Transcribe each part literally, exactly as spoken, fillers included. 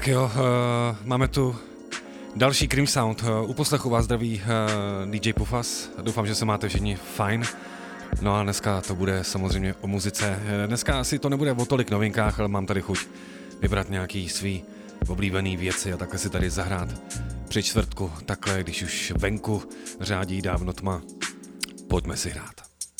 Tak jo, uh, máme tu další Cream Sound. Uh, u poslechu vás zdraví uh, D J Pufas. Doufám, že se máte všichni fajn. No a dneska to bude samozřejmě o muzice. Dneska asi to nebude o tolik novinkách, ale mám tady chuť vybrat nějaký svý oblíbený věci a takhle si tady zahrát při čtvrtku, takhle, když už venku řádí dávno tma. Pojďme si hrát.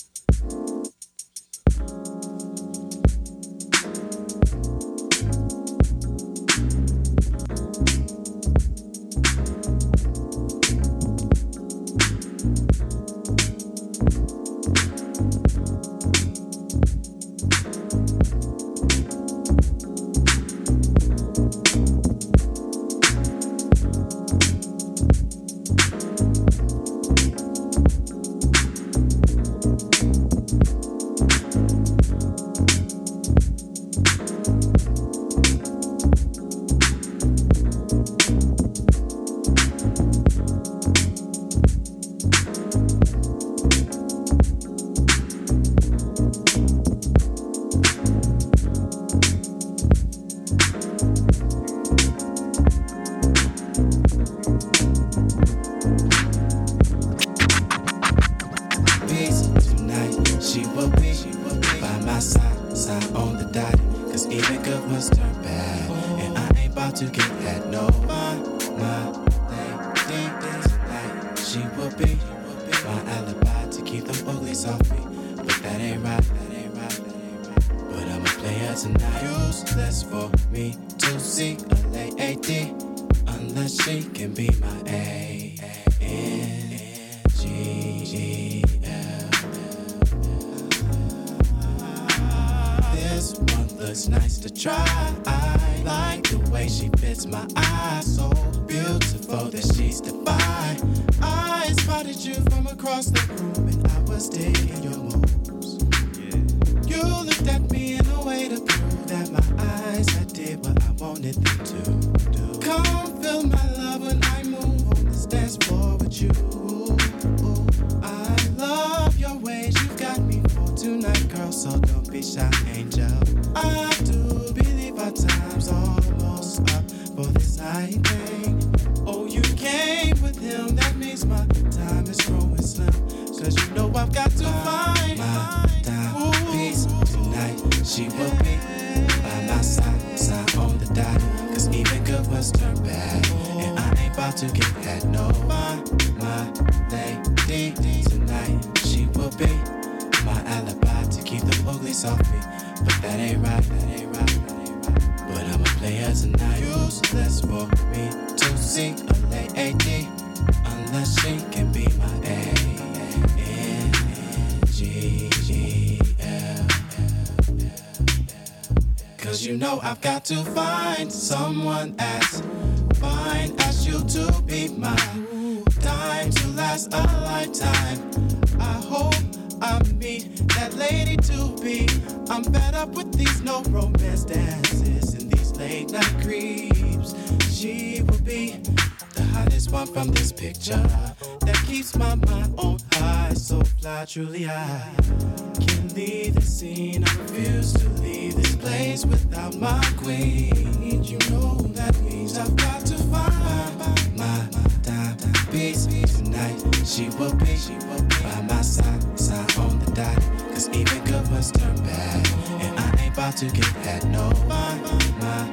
I've got to find someone as fine as you to be mine. Time to last a lifetime. I hope I meet that lady to be. I'm fed up with these no romance dances and these late night creeps. She will be the hottest one from this picture that keeps my mind on high. So fly, truly I can't leave the scene. I refuse to leave this place without my queen. You know that means I've got to find my, my time piece tonight. She will be, she will be by my side, side on the dot. Cause even good must turn bad, and I ain't about to get that. No, my, my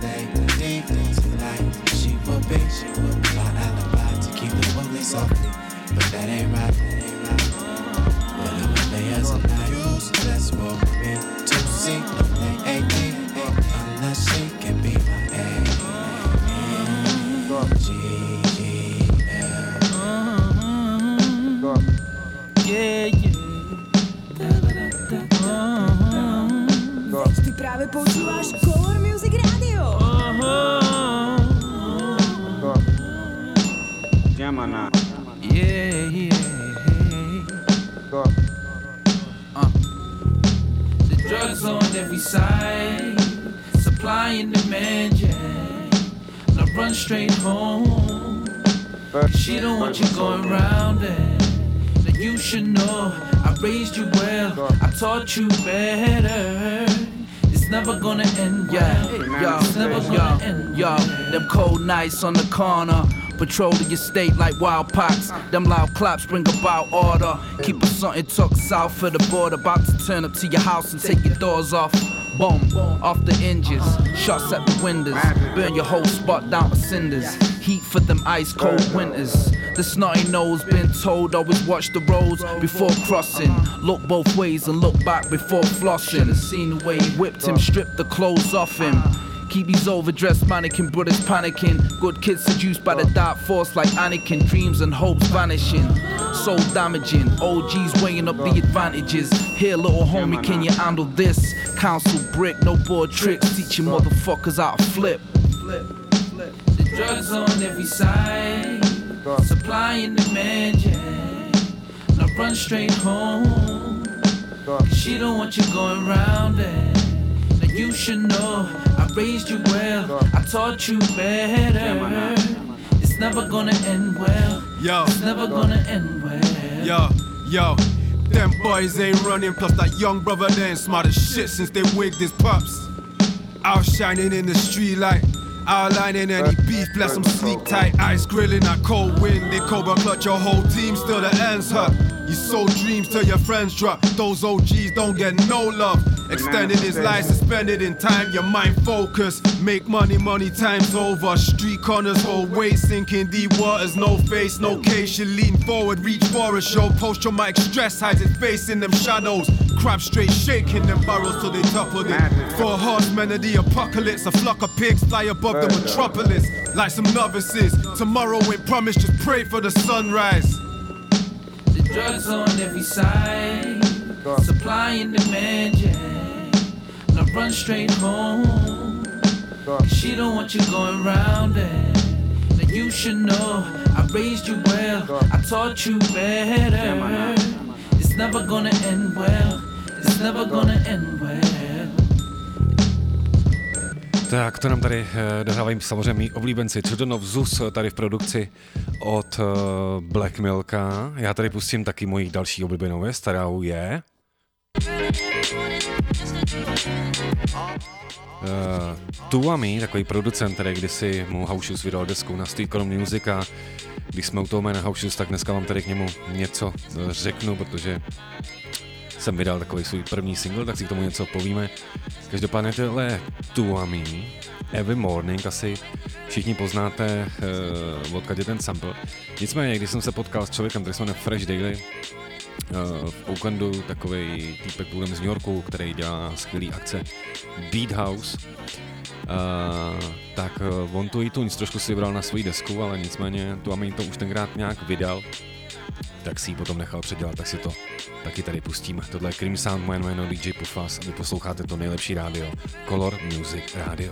lady tonight. She will be, she will be my alibi to keep the ugly softly. But that ain't right, that ain't right. But I'ma lay as a night. Useless for me to see a lady unless she can be my A. G L. Yeah, yeah. Ty právě používáš Color Music Radio. Jamana. Yeah, yeah. Uh. The drugs on every side, supply and demand, yeah. Now run straight home. She don't want you going round it. Now you should know I raised you well, I taught you better. It's never gonna end, yeah. Yo, it's never gonna end, yo. Them cold nights on the corner, patrolling your state like wild packs. Them loud claps bring about order. Keep us something tucked south of the border. About to turn up to your house and take your doors off. Boom, off the hinges, shots at the windows. Burn your whole spot down to cinders. Heat for them ice cold winters. The snotty nose been told always watch the roads before crossing. Look both ways and look back before flossing. Seen the way he whipped him, stripped the clothes off him. Keep these overdressed mannequin brothers panicking. Good kids seduced by the dark force like Anakin. Dreams and hopes vanishing, soul damaging. O Gs weighing up the advantages. Here little homie, can you handle this? Council brick, no board tricks. Teaching motherfuckers how to flip. The drugs on every side, supply and demand, yeah. Now run straight home, she don't want you going round it. Now you should know, I raised you well, I taught you better. It's never gonna end well, yo. It's never gonna end well. Yo, yo, them boys ain't running, plus that young brother they ain't smart as shit since they wigged his pups. Outshining in the street light, outlining any beef, bless them sleek tight, ice grilling that cold wind. They cobra clutch your whole team, still the ends hurt. You sold dreams till your friends drop. Those O Gs don't get no love. Extended his life, suspended in time. Your mind focus, make money, money times over. Street corners hold weight, sinking deep waters. No face, no case. You lean forward, reach for a show. Post-traumatic stress hides its face in them shadows. Crab straight shaking them barrels till they toppled it. Four horsemen of the apocalypse. A flock of pigs fly above the metropolis like some novices. Tomorrow ain't promised, just pray for the sunrise. The drugs on every side, supply and demand, yeah. Now run straight home, she don't want you going round it. Now you should know, I raised you well, I taught you better. It's never gonna end well, it's never gonna end well. Tak, to nám tady eh, dohrávají samozřejmě mý oblíbenci Children of Zeus tady v produkci od uh, Black Milka. Já tady pustím taky moji další oblíbenou věc, kterou je uh, Tuami, takový producent, který kdysi mu House Shoes vydal desku na Street Column Music a když jsme u toho jména House Shoes, tak dneska vám tady k němu něco uh, řeknu, protože jsem vydal takový svůj první single, tak si k tomu něco povíme. Každopádně tohle Tuami, Every Morning, asi všichni poznáte, uh, odkud je ten sample. Nicméně, když jsem se potkal s člověkem, který se jmenuje Fresh Daily, uh, v Oaklandu, takovej týpek původem z New Yorku, který dělá skvělý akce Beat House, uh, tak uh, on tu iTunes trošku si vybral na svou desku, ale nicméně Tuami to už tenkrát nějak vydal, tak si ji potom nechal předělat, tak si to taky tady pustíme. Tohle je Cream Sound, moje jméno D J Pufas a vy posloucháte to nejlepší rádio, Color Music Radio.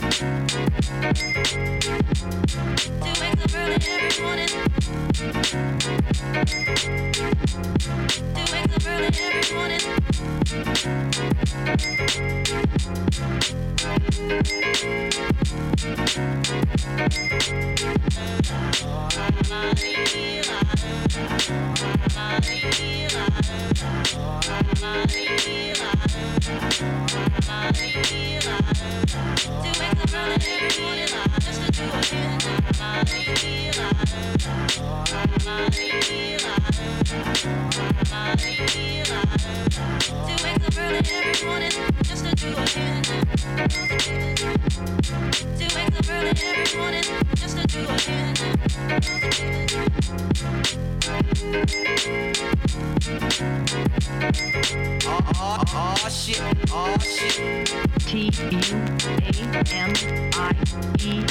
Oh shit, oh shit. T U A M I E.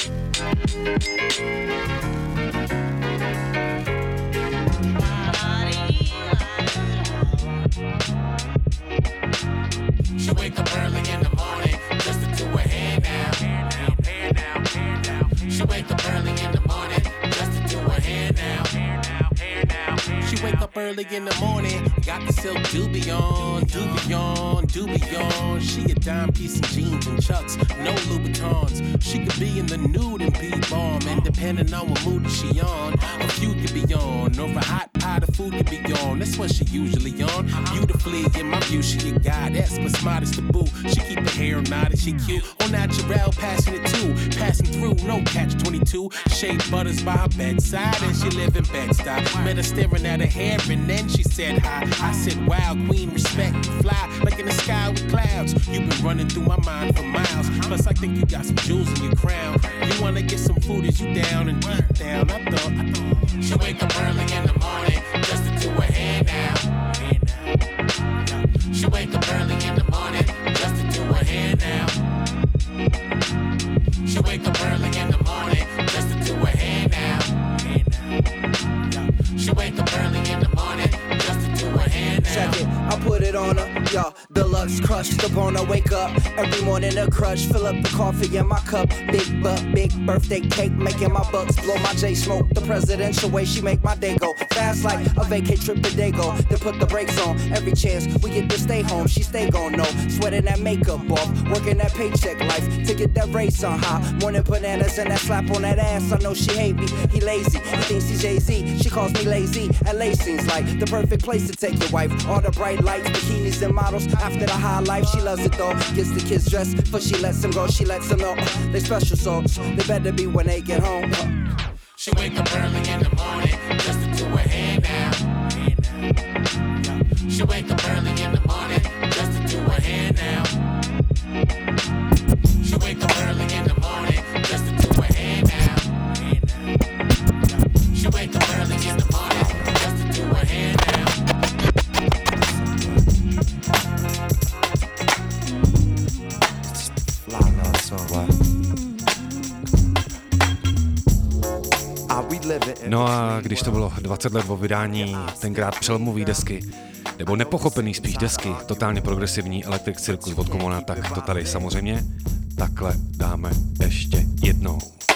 She wake up early in the morning just to do her hair now. Hair now, hair now, hair now. She wake up early in the morning just to do her hair now. Hair now, hair now. She wake up early in the morning, got the silk doobie on, doobie on, doobie on. She a dime piece in jeans and chucks, no Louboutins. She could be in the nude and be bomb, and depending on what mood she on, a few could be on, or a hot pot of food could be on. That's what she usually on. Beautifully, in my view, she a goddess, but smart as the boo. She keep her hair knotted, she cute, on natural, passionate too, passing through, no catch twenty-two. Shea butters by her bedside, and she live in Bed-Stuy. Met her staring at her hair, and then she said hi. I said, wow, queen, respect, you fly like in the sky with clouds. You've been running through my mind for miles. Plus, I think you got some jewels in your crown. You wanna get some food as you down and deep down. I thought, I thought she wake up early in the morning just to do her hair now. She wake up early in the morning just to do her hair now. She wake up early in the morning just to do her hair now. She wake up early in the morning just to do her hair now. Check it, I put it on her, y'all. Deluxe crushed upon her, wake up every morning a crush. Fill up the coffee in my cup, big butt, big birthday cake, making my bucks blow my J smoke. The presidential way she make my day go fast like a vacay trip to Dago. Then put the brakes on every chance we get to stay home. She stay gon' know, sweating that makeup off, working that paycheck life to get that race on high. Morning bananas and that slap on that ass. I know she hate me, he lazy, he thinks he's Jay-Z. She calls me lazy, L A seems like the perfect place to take your wife. All the bright lights, bikinis and models. After the high life, she loves it though. Gets the kids dressed, but she lets them go. She lets them know they special souls. They better be when they get home. She wake up early in the morning just to do her hair now. She wake up early in the morning just to do her hair now. She wake up early in the morning just to do her hair now. She wake up early in the morning just to do her hair now. No a když to bylo dvacet let po vydání tenkrát přelomový desky, nebo nepochopený spíš desky, totálně progresivní Electric Circus od Commona, tak to tady samozřejmě takhle dáme ještě jednou.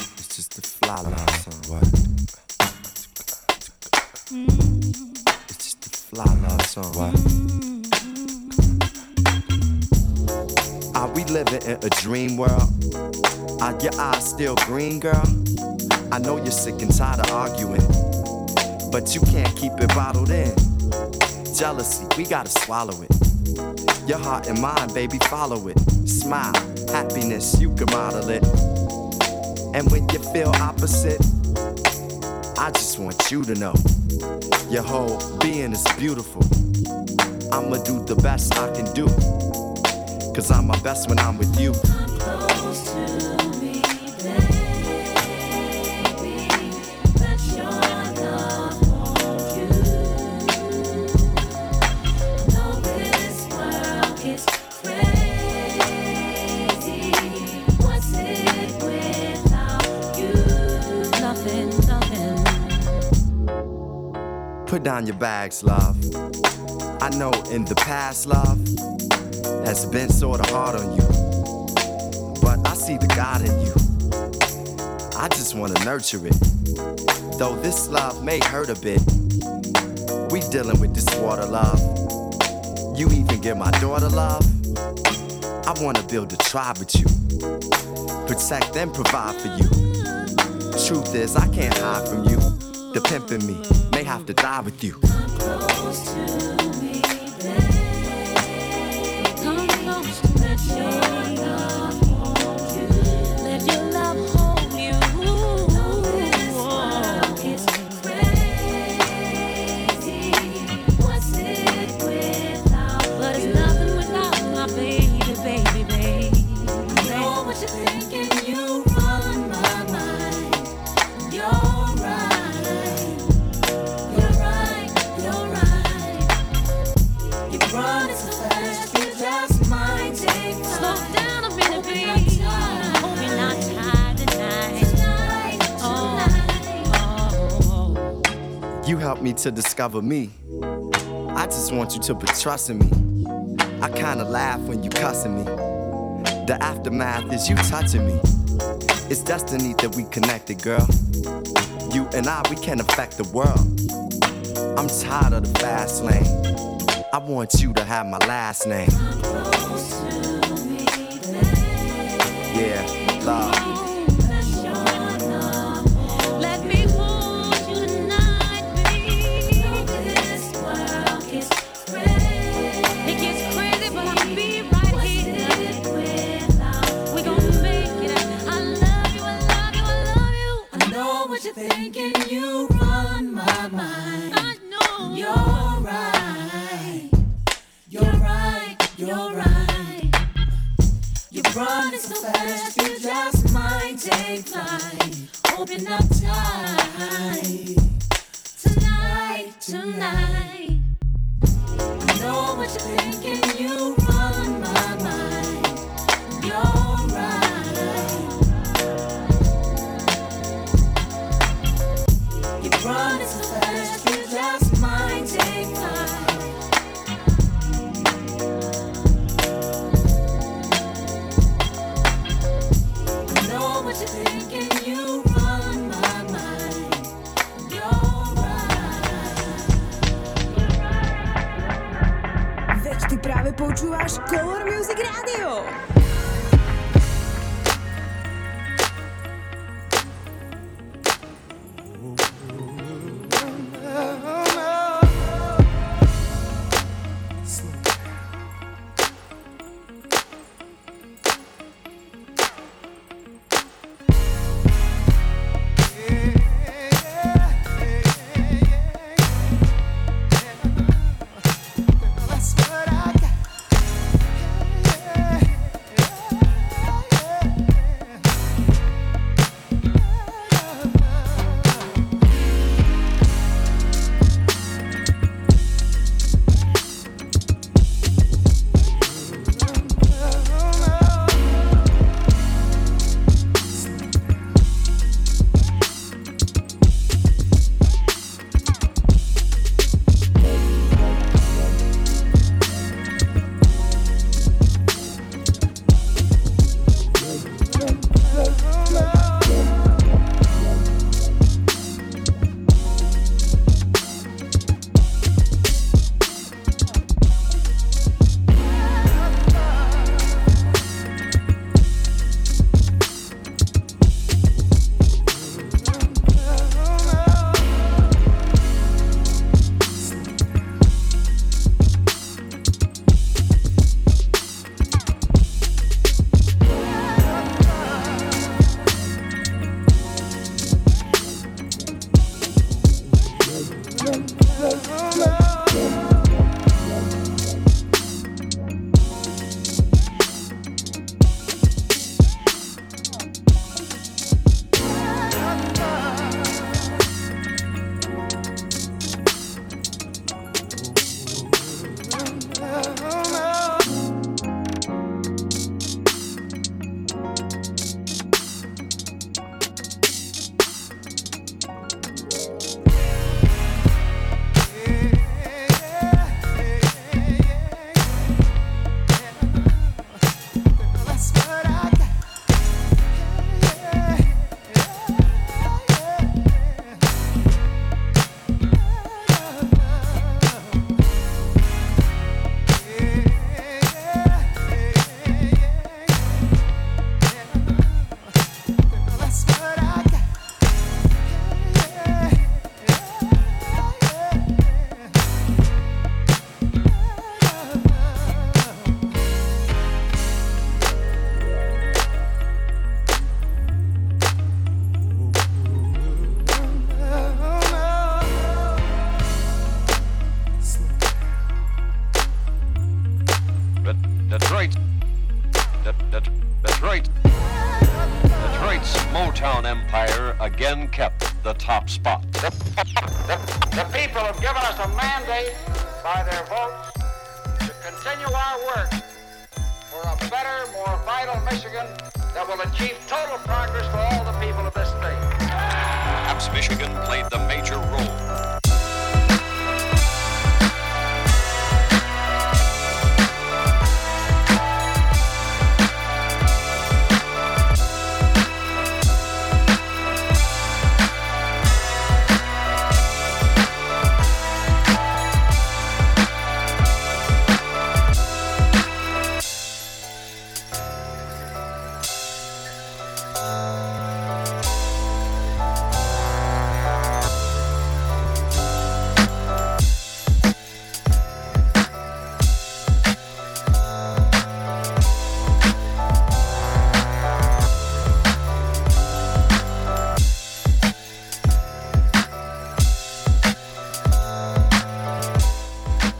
Are we living in a dream world? Are your eyes still green, girl? I know you're sick and tired of arguing, but you can't keep it bottled in. Jealousy, we gotta swallow it. Your heart and mind, baby, follow it. Smile, happiness, you can model it. And when you feel opposite, I just want you to know your whole being is beautiful. I'ma do the best I can do, cause I'm my best when I'm with you. Come close to me, baby. Let your love hold you. Know this world is crazy. What's it without you? Nothing, nothing. Put down your bags, love. I know in the past, love has been sorta hard on you, but I see the God in you. I just wanna nurture it. Though this love may hurt a bit, we dealing with this water, love. You even give my daughter love. I wanna build a tribe with you, protect and provide for you. Truth is, I can't hide from you. The pimp in me may have to die with you. Come close to me, babe. Come close, let your love hold you. Let your love hold you. Know this world is crazy. What's it without But it's nothing without my baby, baby, baby. I know what you're thinking, you run my mind. You're right. You're right, you're right. You run so fast, you just might take time. Slow down a minute, baby. Hope you're not tired tonight. Tonight, tonight. Oh. You helped me to discover me. I just want you to put trust in me. I kinda laugh when you cussing me. The aftermath is you touching me. It's destiny that we connected, girl. You and I, we can affect the world. I'm tired of the fast lane. I want you to have my last name. Yeah, love. Thinking you run my mind. I know you're right. You're right. You're right. You're running so fast, you just might take flight. Open up tight. Tonight, tonight. I know what you're thinking. You run my mind. You're right. Running so fast, you just might take flight. I know what you're thinking, you run my mind. You're right. Veď ty práve počúvaš Color Music Radio. Again kept the top spot. The, the, the people have given us a mandate by their votes to continue our work for a better, more vital Michigan that will achieve total progress for all the people of this state. Perhaps Michigan played the major role.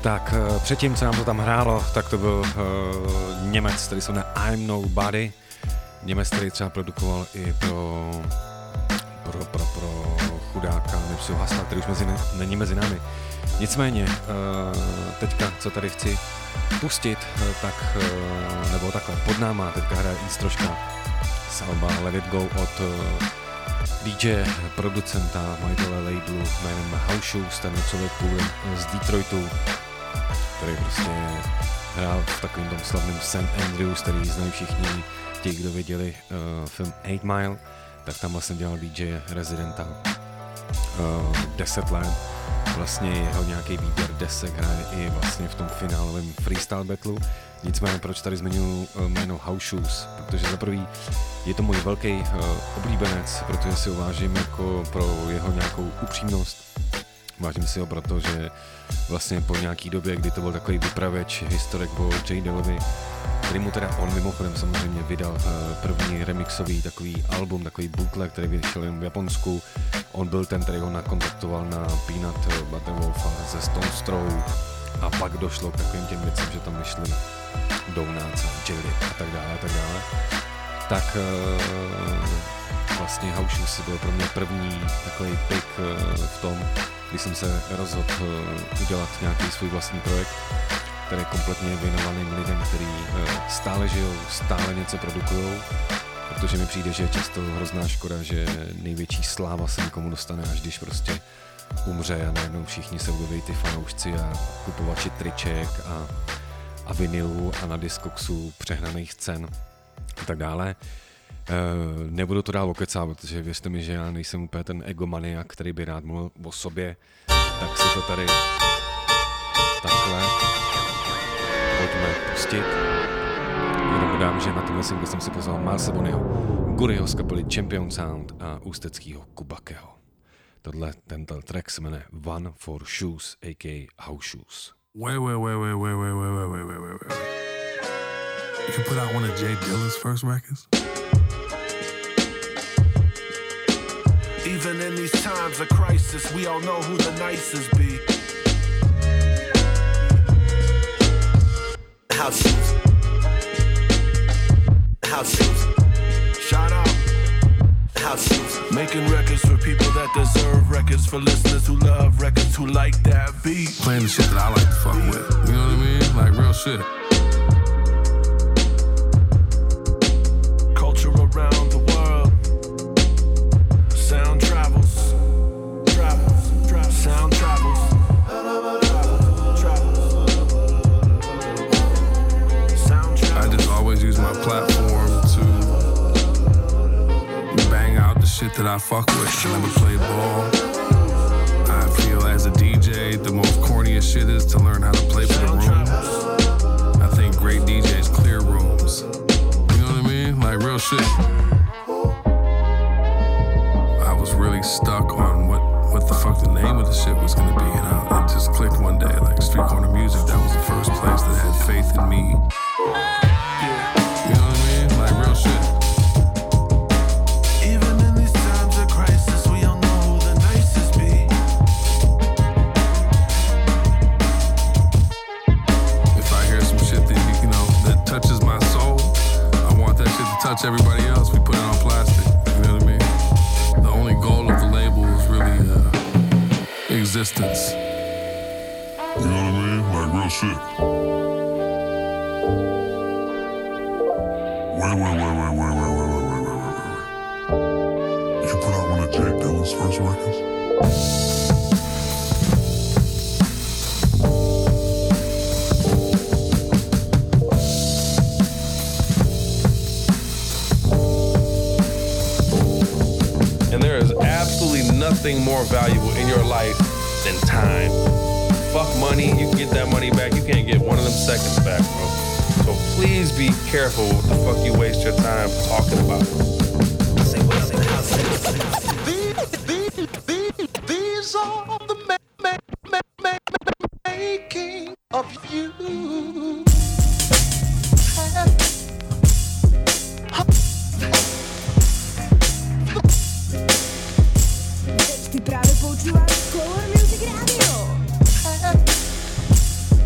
Tak předtím, co nám to tam hrálo, tak to byl uh, Němec, který se jmenuje I'm Nobody. Němec, který třeba produkoval i pro, pro, pro, pro chudáka Nipseyho Hussla, který už mezi ne, není mezi námi. Nicméně, uh, teďka, co tady chci pustit, uh, tak, uh, nebo takhle, pod náma teďka hraje Ístroška z alba Let It Go od uh, D J, producenta, majitele labelu jménem House Shoes, ten člověk původem z Detroitu, který prostě hrál v takovým tom slavném Saint Andrews, který znají všichni ti, kdo viděli uh, film eight mile, tak tam vlastně dělal D J rezidenta uh, deset let. Vlastně jeho nějaký výběr desek hraje i vlastně v tom finálovém freestyle battlu. Nicméně proč tady zmiňuji uh, jméno House Shoes, protože za prvý je to můj velký uh, oblíbenec, protože si ho vážím jako pro jeho nějakou upřímnost. Vážím si ho proto, že vlastně po nějaký době, kdy to byl takový vypravěč, historik o J. Dillovi, který mu teda on mimochodem samozřejmě vydal uh, první remixový takový album, takový bootleg, který vyšel jen v Japonsku. On byl ten, který ho nakontaktoval na Peanut Butter Wolfa ze Stone Throw a pak došlo k takovým těm věcem, že tam vyšli Donuts a Jelly a tak dále a tak dále. Tak uh, vlastně House Shoes byl pro mě první takový pick uh, v tom, když jsem se rozhodl uh, udělat nějaký svůj vlastní projekt, který je kompletně věnovaný lidem, kteří uh, stále žijou, stále něco produkujou, protože mi přijde, že je často hrozná škoda, že největší sláva se někomu dostane, až když prostě umře a najednou všichni se objeví ty fanoušci a kupovači triček a, a vinilů a na Discogsu přehnaných cen a tak dále. Uh, nebudu to dál okecát, protože věřte mi, že já nejsem úplně ten egomaniak, který by rád mluvil o sobě, tak si to tady takhle pojďme pustit. Jenom dodám, že na tomhle singlu jsem si pozval Milese Bonnyho, Guriho z kapely Champion Sound a ústeckýho Kubakeho. Tohle, tento track se jmenuje One for Shoes, a k a. House Shoes. Wait, wait, wait, wait, wait, wait, wait, wait, wait, wait, wait, wait. You can put out one of Jay Dilla's first records? Even in these times of crisis, we all know who the nicest be. House Shoes. House Shoes. Shout out. House Shoes. Making records for people that deserve records, for listeners who love records, who like that beat. Playing the shit that I like to fuck with. You know what I mean? Like real shit. Culture around the world. Sound travels. Travels. Travels. Sound travels. I just always use my platform to bang out the shit that I fuck with. I never played ball. I feel as a D J, the most corniest shit is to learn how to play for the rooms. I think great D Js clear rooms. You know what I mean? Like real shit. I was really stuck on what, what the fuck the name of the shit was gonna be, and I, it just clicked one day. Like Street Corner Music, that was the first place that had faith in me. Touch everybody else, we put it on plastic. You know what I mean? The only goal of the label is really uh, existence. You know what I mean? Like real shit. Wait, wait, wait, wait, wait, wait, wait, wait, wait, wait, wait. You put out one of Jay Dilla's first records? Nothing more valuable in your life than time. Fuck money, you can get that money back. You can't get one of them seconds back, bro. So please be careful what the fuck you waste your time talking about. Say what up in the house. These are the ma- ma- ma- ma- ma- making of you. Ty právě poučíváš Color Music Radio.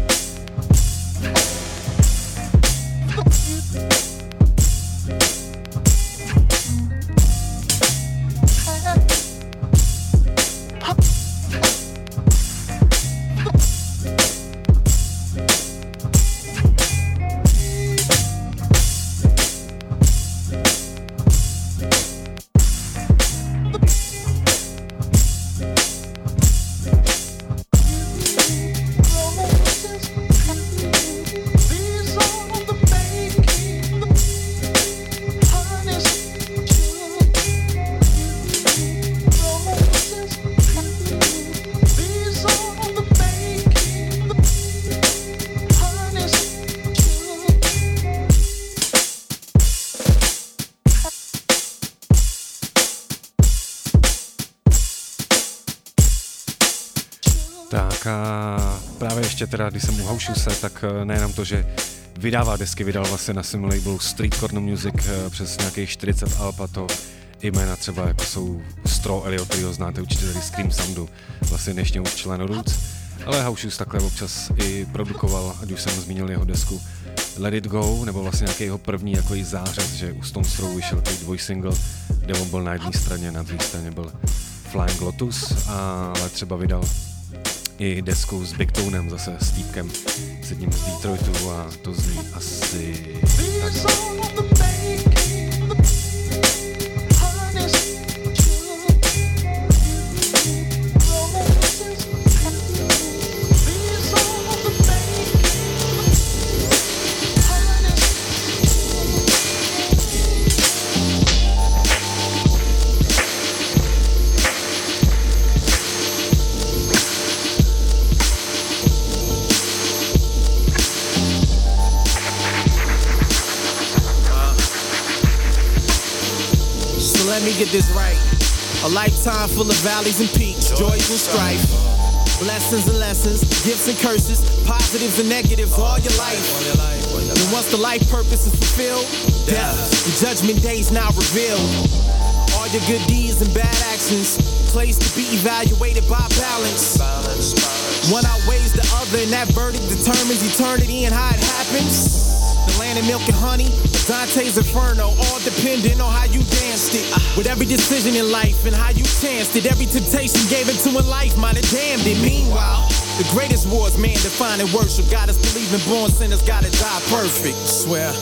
Tak a právě ještě teda, když jsem u Housuse, tak nejenom to, že vydává desky, vydal vlastně na svém labelu Street Corner Music přes nějakých čtyřicet alb, a to i jména třeba jako jsou Straw Elliot, kterýho znáte určitě tady Scream Soundu, vlastně dnešně už člen Roots, ale Housuse takhle občas i produkoval, ať už jsem zmínil jeho desku Let It Go, nebo vlastně nějaký jeho první jako i zářez, že u Stone Throw vyšel takový dvojsingle, kde on byl na jedné straně, na druhé straně byl Flying Lotus, ale třeba vydal i desku s Big Tonem, zase s týpkem, s jedním z Detroitu, a to zní asi tak. Let me get this right. A lifetime full of valleys and peaks, joys and strife, blessings and lessons, gifts and curses, positives and negatives all your life. And once the life purpose is fulfilled, death and judgment days now revealed. All your good deeds and bad actions, placed to be evaluated by balance. One outweighs the other, and that verdict determines eternity and how it happens. The land of milk and honey, Dante's Inferno, all depending on how you danced it. With every decision in life and how you chanced it, every temptation gave into in life might have damned it. Meanwhile, the greatest war is man defining worship. Got us believing born sinners gotta die perfect. Swear.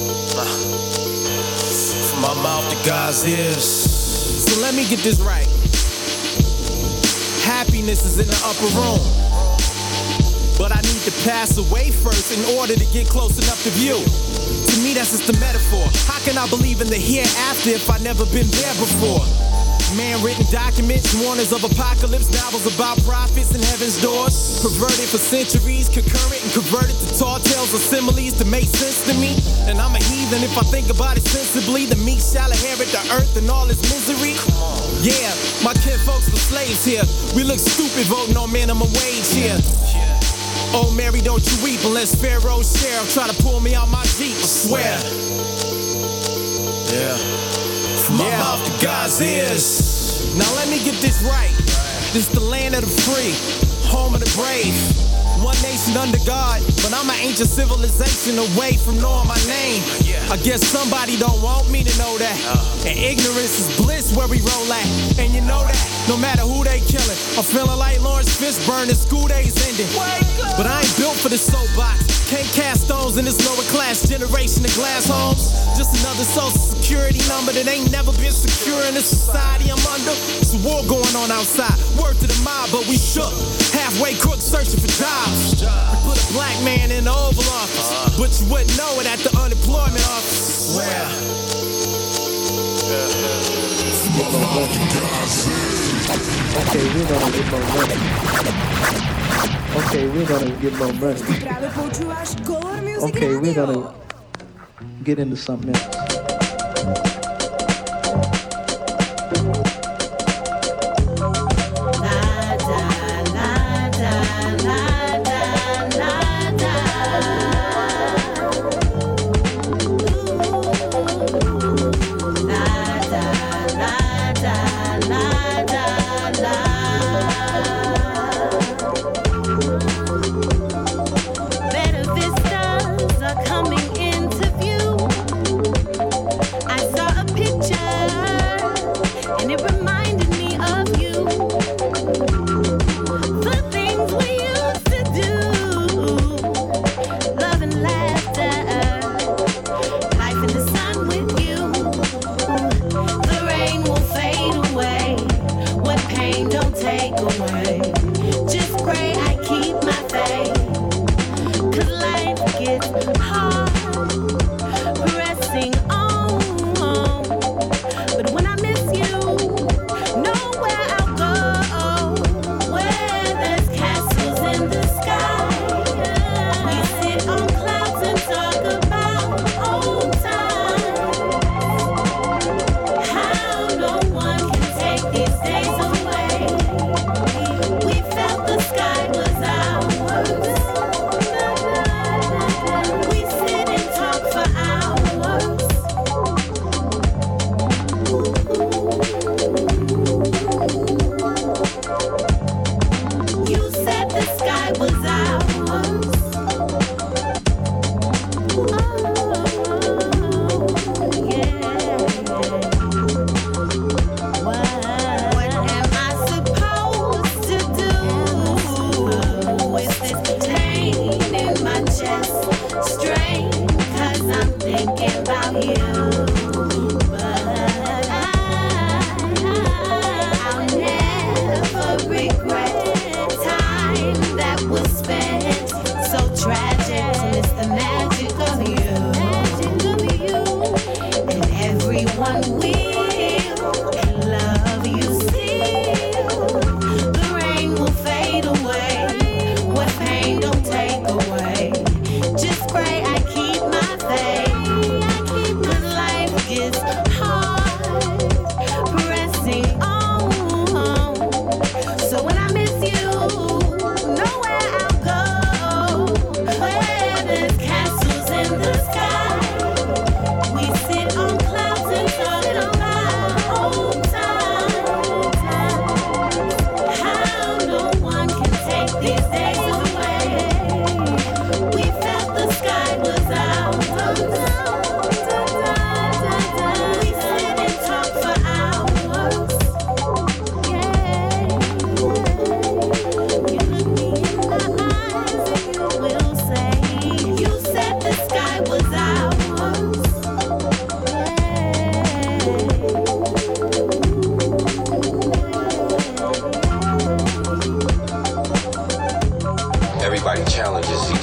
From my mouth to God's ears. So let me get this right. Happiness is in the upper room, but I need to pass away first in order to get close enough to view. To me, that's just a metaphor. How can I believe in the hereafter if I never been there before? Man-written documents, warners of apocalypse, novels about prophets and heaven's doors. Perverted for centuries, concurrent and converted to tall tales or similes to make sense to me. And I'm a heathen if I think about it sensibly. The meek shall inherit the earth and all its misery. Yeah, my kinfolks were slaves here. We look stupid voting on minimum wage here. Oh Mary, don't you weep unless Pharaoh's sheriff try to pull me out my Jeep, I swear. Yeah. From my yeah. mouth to God's ears. Now let me get this right. This the land of the free, home of the brave. One nation under God, but I'm an ancient civilization away from knowing my name. I guess somebody don't want me to know that. And ignorance is bliss where we roll at. And you know that, no matter who they killing, I'm feeling like Lawrence Fishburne and school days ending. But I ain't built for this soapbox. Can't cast stones in this lower class generation of glass homes. Just another social security number that ain't never been secure in the society I'm under. It's a war going on outside, word to the mob, but we shook. Halfway crooks searching for jobs. We put a black man in the Oval Office, but you wouldn't know it at the unemployment office. Where? Okay, we're gonna get more money. Okay, we're gonna get more money. Okay, we're gonna get into something else.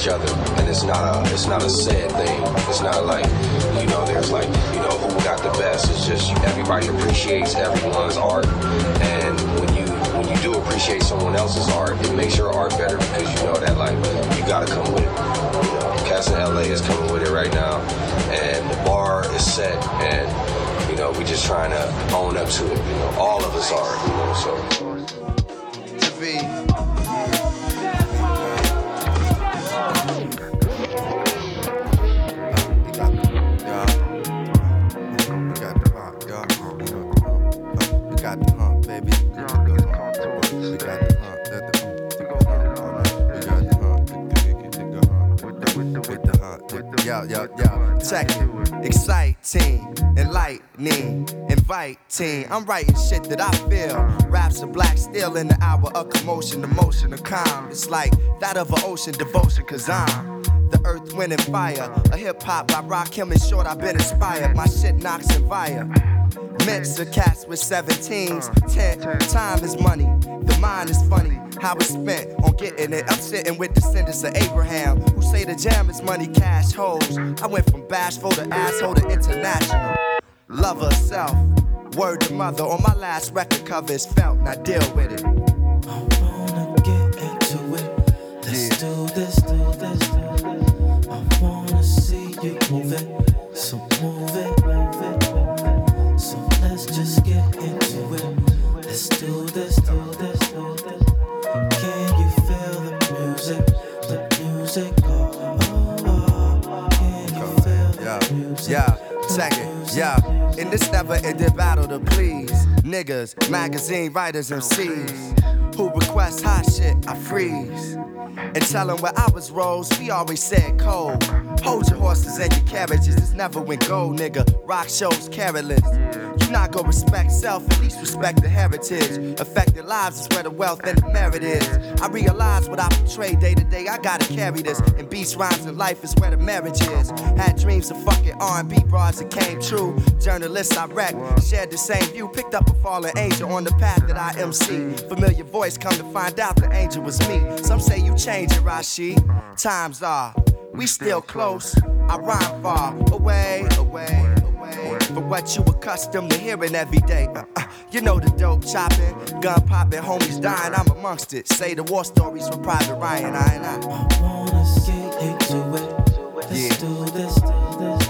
each other, and it's not a it's not a sad thing. It's not like, you know, there's like, you know, who got the best. It's just everybody appreciates everyone's art, and when you when you do appreciate someone else's art, it makes your art better because you know that like you gotta come with it. You know, Cats in L A is coming with it right now, and the bar is set, and you know we just trying to own up to it. You know, all of us are. You know, so. To be. Yo, yo, yo, check it. Exciting, enlightening, inviting. I'm writing shit that I feel. Raps are black steel in the hour of commotion, emotion, of calm. It's like that of an ocean devotion, cause I'm the earth, wind, and fire. A hip hop by Rakim and Short, I've been inspired. My shit knocks and fire. Mix of cats with seventeens. Ten, time is money. The mind is funny. How it's spent on getting it. I'm sitting with descendants of Abraham who say the jam is money, cash, hoes. I went from bashful to asshole to international. Love herself. Word to mother. On my last record cover is felt. Now deal with it. I wanna get into it. Let's yeah. do this, do this, do this. I wanna see you move it. So move it, move it. So let's just get into it. Let's do this, do this, do this. Can you feel the music? The music, oh, oh, oh. Can you feel the yeah. music? Yeah, check it, yeah. In this never-ending battle to please niggas, magazine writers, M Cs who request hot shit, I freeze. And tell them where I was rose, we always said cold. Hold your horses and your carriages, it's never went gold, nigga. Rock shows careless. You not gonna respect self, at least respect the heritage. Affected lives is where the wealth and the merit is. I realize what I portray day to day, I gotta carry this. And beats, rhymes, and life is where the marriage is. Had dreams of fucking R and B bras that came true. Journalists I wrecked, shared the same view. Picked up a fallen angel on the path that I M C. Familiar voice, come to find out the angel was me. Some say you change it, Rashid. Times are, we still close. I rhyme far, away, away, away. For what you accustomed to hearing every day. Uh, uh, you know the dope chopping, gun popping, homies dying, I'm amongst it. Say the war stories from Private Ryan, I and I. I wanna get into it. Let's yeah. do this, do this.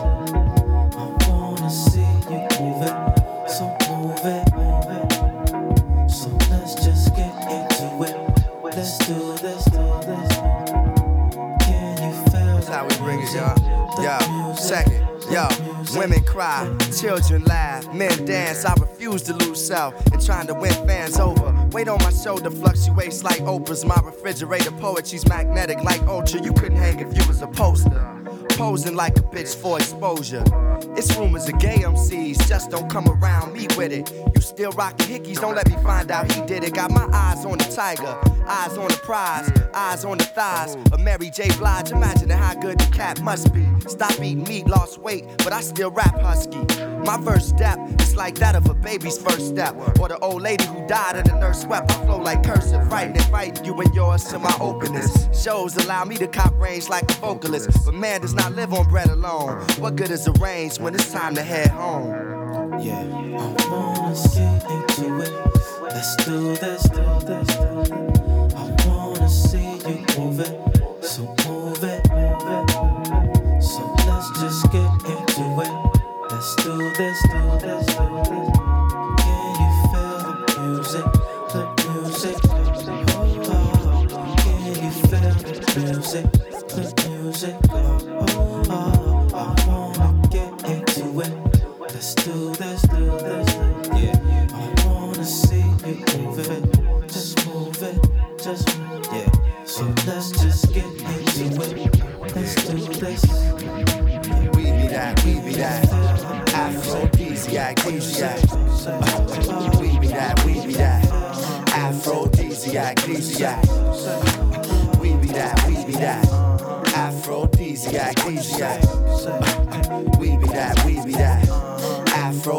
I wanna see you move it. So move it, move it. So let's just get into it. Let's do this, do this. Can you feel That's how we bring it, y'all. Yo, check it. Yo, women cry, children laugh, men dance. I refuse to lose self and trying to win fans over. Weight on my shoulder fluctuates like Oprah's. My refrigerator poetry's magnetic like Ultra. You couldn't hang if you was a poster. Posing like a bitch for exposure. It's rumors of gay M Cs, just don't come around me with it. You still rock the hickeys, don't let me find out he did it. Got my eyes on the tiger, eyes on the prize, eyes on the thighs of Mary J. Blige. Imagining how good the cat must be. Stop eating meat, lost weight, but I still rap husky. My first step is like that of a baby's first step, or the old lady who died and the nurse wept. I flow like cursive, writing and fighting you and yours to my openness. Shows allow me to cop range like a vocalist, but man does not live on bread alone. What good is a range when it's time to head home? Yeah, I wanna get into it. Let's do this, do this, do this. I wanna see you move it. So move it, move it. So let's just get into it. Let's do this, do this, do this. Can you feel the music? The music. Oh, oh. Can you feel the music? The music. Oh, oh. I wanna get into it. Let's do this, do this. Yeah. I wanna see you move it. Just move it. Just move it. Yeah. So let's just get into it. Let's do this. We be that, we be that. Aphrodisiac, aphrodisiac. Uh, we be that, we be that. Aphrodisiac, aphrodisiac. We be that, we be that. Aphrodisiac, aphrodisiac. Uh, we be that, we be that.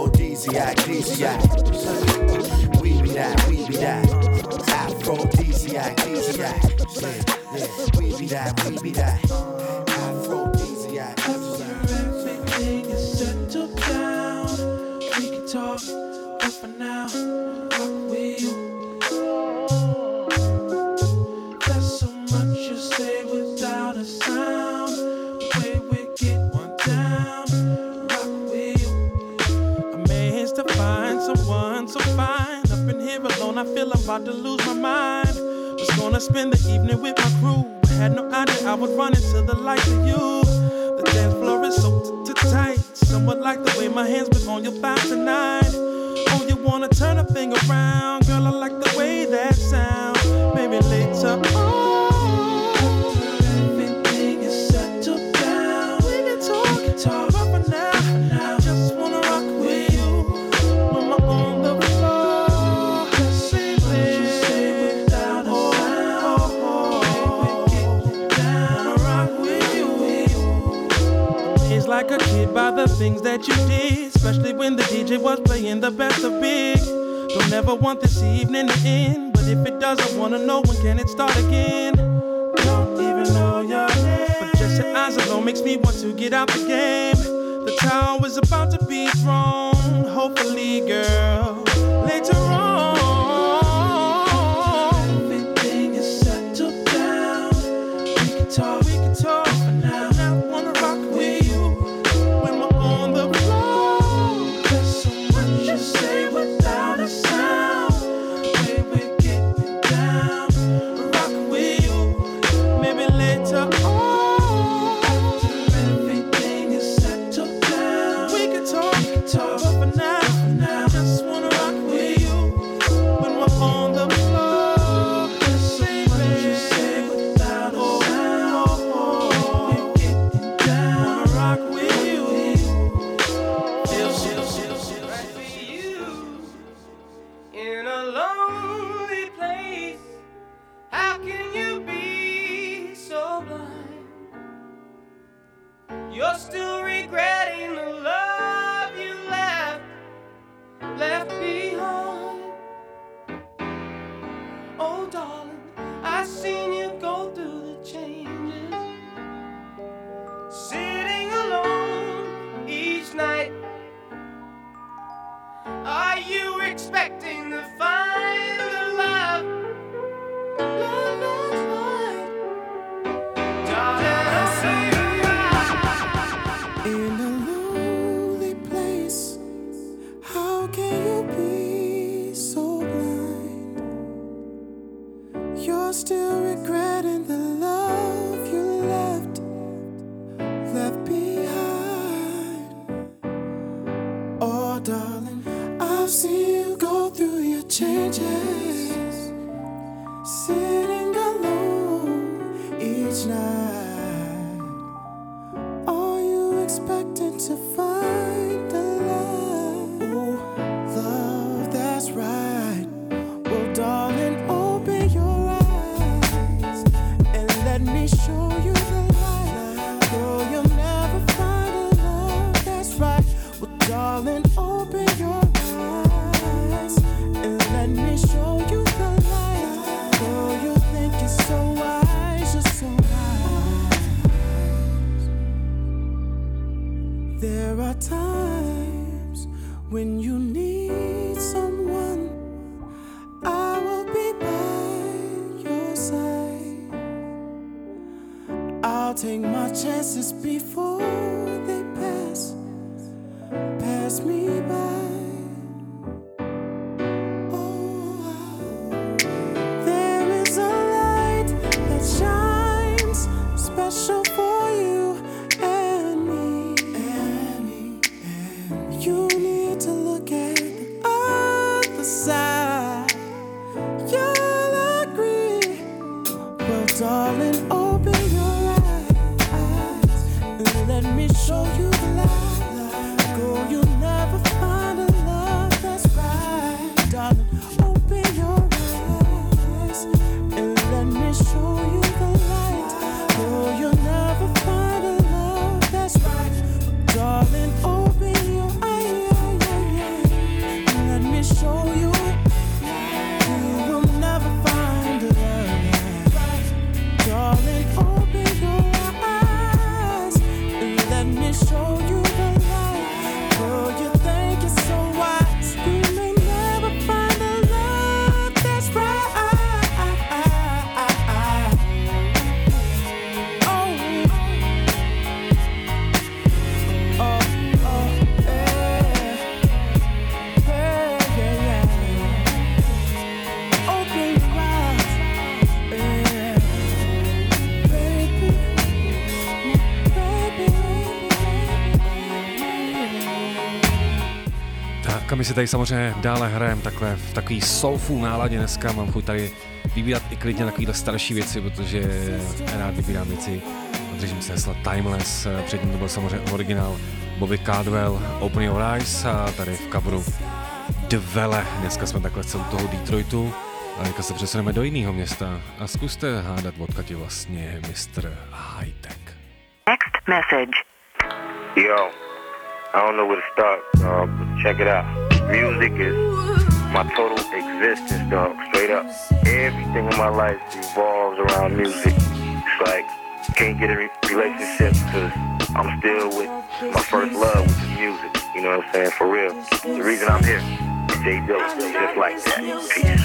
Aphrodisiac, aphrodisiac. We be that, we be that. Aphrodisiac. aphrodisiac, aphrodisiac. Yeah, yeah, we be that, we be that. Aphrodisiac. Everything is settled down. We can talk, but for now, rock with you. There's so much you say without a sound. The way we get one down, rock with you. Amazed to find someone so fine. Up in here alone, I feel I'm about to lose my mind. Was gonna spend the evening with my crew. Had no idea I would run into the likes of you. The dance floor is so t- t- tight. Somewhat like the way my hands was on your thighs tonight. Oh, you wanna turn a thing around? Girl, I like the way that sounds. Maybe later on, everything is settled down. We can talk, we can talk, but for now, for now, I just wanna rock with you. When we're on the floor, the same thing you say without a sound. Baby, get down, wanna rock with you. It's like a kid by the things that you did, especially when the D J was playing the best of big. Don't ever want this evening to end, but if it does, I wanna know when can it start again. Don't even know your name, but just your eyes alone makes me want to get out the game. The towel is about to be thrown, hopefully, girl, later on. Everything is settled down. We can talk, we can talk for now. I wanna rock with you when we're on the floor. There's so much you say without a sound. Way we get it down, rock with you. Maybe later on, after everything is settled down, we can talk, we can talk. But for now, for now, I just wanna rock with you when we're on the floor. There's so much you say without a sound. We get it down, wanna rock with you. Feel, feel, feel, feel, right with you in a lonely place. How can you be so blind? You're still regretting the love you left, left behind. Oh, darling, I've seen you go through the changes, sitting alone each night. Are you expecting to find the love? Love that's right. Darling, I see you In a lonely place, how can you be so blind? You're still regretting the love you left, left behind. Oh, darling, I've seen you go through your changes, sitting alone each night. Are you expecting to find the love? Oh, love that's right. Well, darling, open your eyes and let me show you the light. Girl, you'll never find a love that's right. Well, darling, open your eyes and let me show you the light. Girl, you think you're so wise, you're so wise. There are times when you need someone, I will be by your side. I'll take my chances before they pass, pass me by. There is a light that shines special for you and me. And me. And you need to look at the other side. You'll agree. Well, darling, open your eyes and let me show you the light. Girl, you'll never find a love that's right. Darling, open your eyes and let me show you the light. Girl, you'll never find a love that's right. Darling, open your eyes and let me show you. You will never find a love. si tady samozřejmě dále hrajeme takhle v takový soulful náladě dneska. Mám chuť tady vybírat i klidně takovýhle starší věci, protože rád vybírám věci. Držím se hesla Timeless, předtím to byl samozřejmě originál Bobby Caldwell, Open Your Eyes a tady v coveru Dvele. Dneska jsme takhle celou toho Detroitu a teďka se přesuneme do jiného města a zkuste hádat, odkud je vlastně mister Hightech. Next message. Yo, I don't know where to start, uh, but check it out. Music is my total existence, dog, straight up. Everything in my life revolves around music. It's like, can't get a re- relationship because I'm still with my first love, which is music. You know what I'm saying? For real. The reason I'm here, J Dilla, just like that. Peace.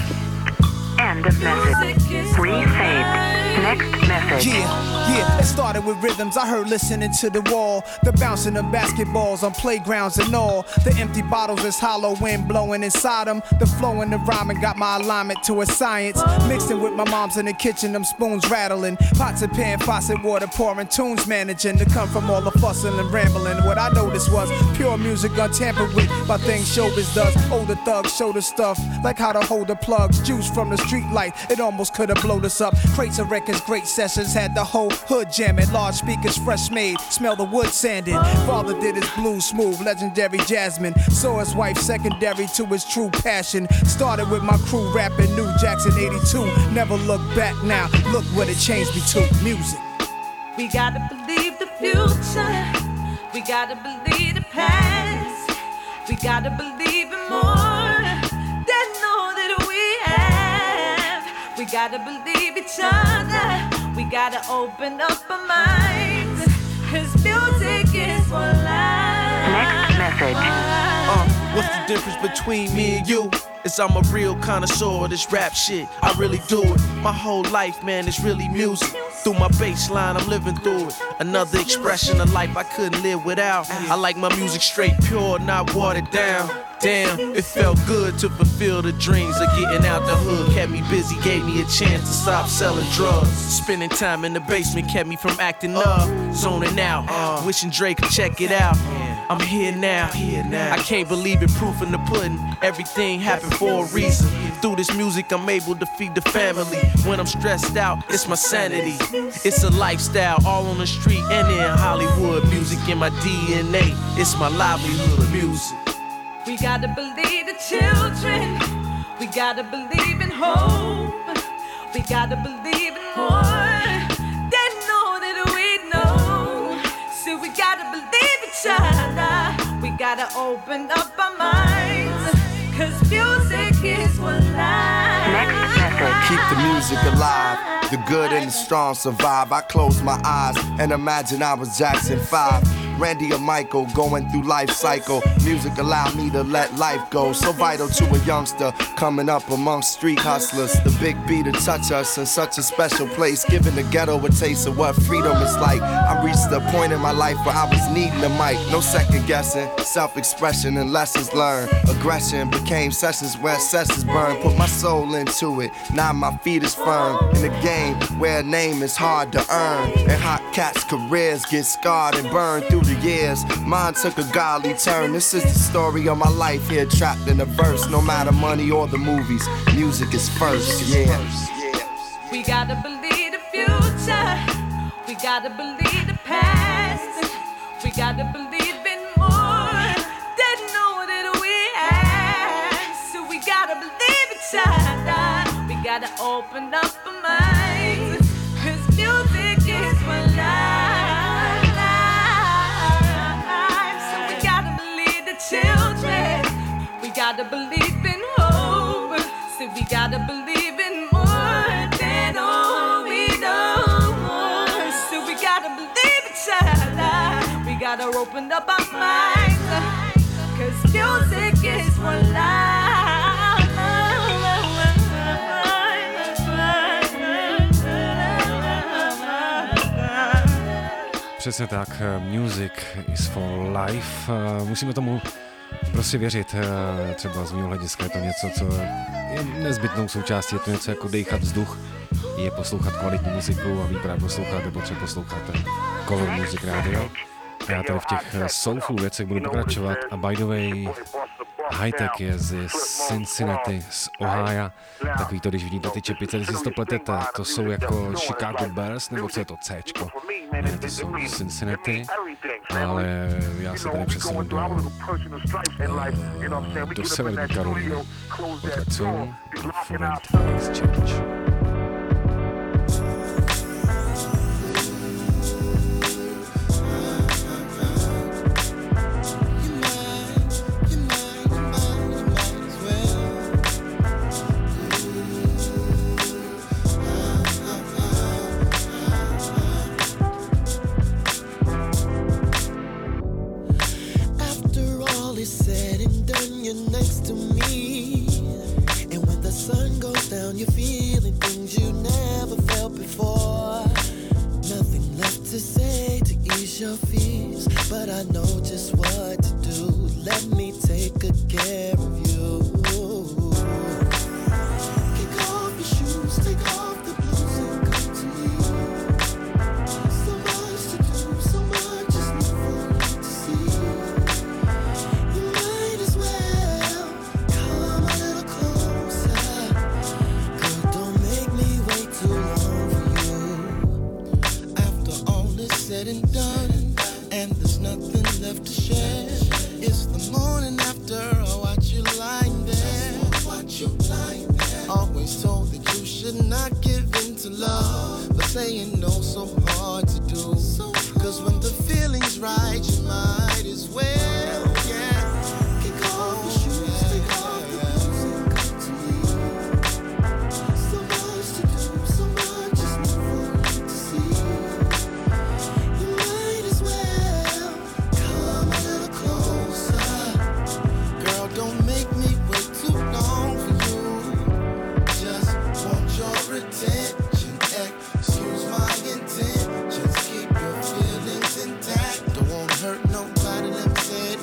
End of message. Resaved. Next message. Yeah, yeah, it started with rhythms I heard listening to the wall. The bouncing of basketballs on playgrounds and all. The empty bottles is hollow wind blowing inside them. The flow and the rhyming got my alignment to a science. Mixing with my mom's in the kitchen, them spoons rattling. Pots and pan, faucet water pouring, tunes managing to come from all the fussing and rambling. What I noticed was pure music untampered with by things showbiz does. Older thugs show the stuff, like how to hold the plugs. Juice from the street light, it almost could have blown us up. Crates of records, great sessions, had the whole hood jamming. Large speakers, fresh made, smell the wood sanding. Father did his blues smooth, legendary Jasmine. Saw his wife secondary to his true passion. Started with my crew rapping New Jackson eighty-two. Never look back now, look what it changed me to. Music. We gotta believe the future. We gotta believe the past. We gotta believe in more than all that we have. We gotta believe each other. We gotta open up our minds. Cause music is for life. Next message. Uh, what's the difference between me and you? Is I'm a real connoisseur of this rap shit. I really do it. My whole life, man, is really music. Through my bass line, I'm living through it. Another expression of life I couldn't live without. I like my music straight, pure, not watered down. Damn, it felt good to fulfill the dreams of getting out the hood. Kept me busy, gave me a chance to stop selling drugs. Spending time in the basement kept me from acting up. Zoning out, wishing Drake could check it out. I'm here now. I can't believe it, proof in the pudding. Everything happened for a reason. Through this music, I'm able to feed the family. When I'm stressed out, it's my sanity. It's a lifestyle, all on the street and in Hollywood. Music in my D N A, it's my livelihood. Music. We gotta believe the children. We gotta believe in hope. We gotta believe in more than all that we know. So we gotta believe each other. We gotta open up our minds. Cause music is what life. Next message. Keep the music alive. The good and the strong survive. I close my eyes and imagine I was Jackson five. Randy or Michael going through life cycle. Music allowed me to let life go. So vital to a youngster coming up amongst street hustlers. The big beat to touch us in such a special place. Giving the ghetto a taste of what freedom is like. I reached the point in my life where I was needing a mic. No second guessing, self-expression and lessons learned. Aggression became sessions where sessions burn. Put my soul into it, now my feet is firm. In a game where a name is hard to earn. And hot cats' careers get scarred and burned through the years. Mine took a godly turn. This is the story of my life here, trapped in a verse. No matter money or the movies, music is first, yeah. We gotta believe the future. We gotta believe the past. We gotta believe in more than all that we have. So we gotta believe each other. We gotta open up our minds. Cause music is what life. So we gotta believe the children. We gotta believe in hope. So we gotta believe in more than all we know. So we gotta believe each other. We gotta open up our minds. Cause music is for life. Přesně tak, music is for life. Musíme tomu prostě věřit. Třeba z mého hlediska je to něco, co je nezbytnou součástí. Je to něco jako dejchat vzduch, je poslouchat kvalitní muziku a vy právě posloucháte, potřeba posloucháte Color Music Radio. Já tady v těch soulful věcech budu pokračovat a by the way, Hightech je z Cincinnati, z Ohio. Takový to, když vidíte ty čepice, když si to pletete, to jsou jako Chicago Bears, nebo co je to Cčko? Ne, to jsou Cincinnati, ale já se tady přesunu do, do Severní Karolíny. Odkud jsou Foreign Exchange. Excuse my intentions, keep your feelings intact. Don't wanna hurt nobody, let me say it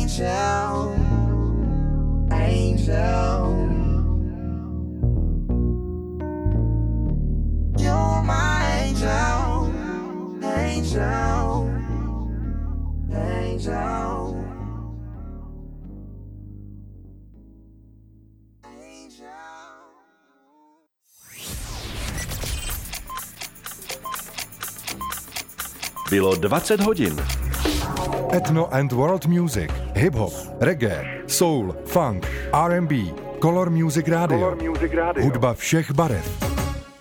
angel, angel. You're my angel, angel, angel. Bylo dvacet hodin. Ethno and World Music, hip-hop, reggae, soul, funk, R and B, Color Music Radio, Color Music Radio. Hudba všech barev.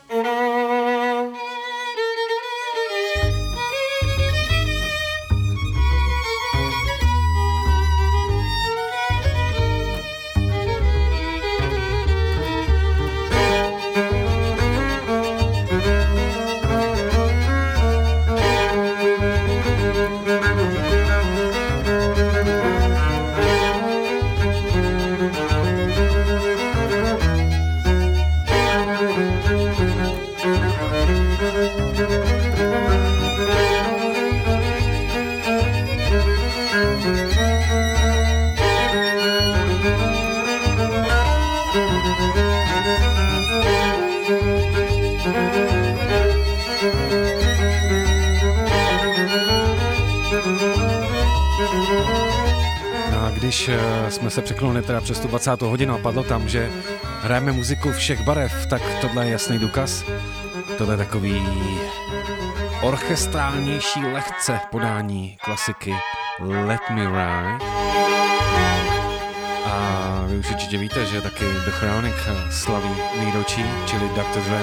Jsme se překlonili teda přes tu dvacátou hodinu a padlo tam, že hrajeme muziku všech barev, tak tohle je jasný důkaz. Tohle je takový orchestrálnější lehce podání klasiky Let Me Ride. A vy už určitě víte, že taky The Chronic slaví výročí, čili doktor Dre.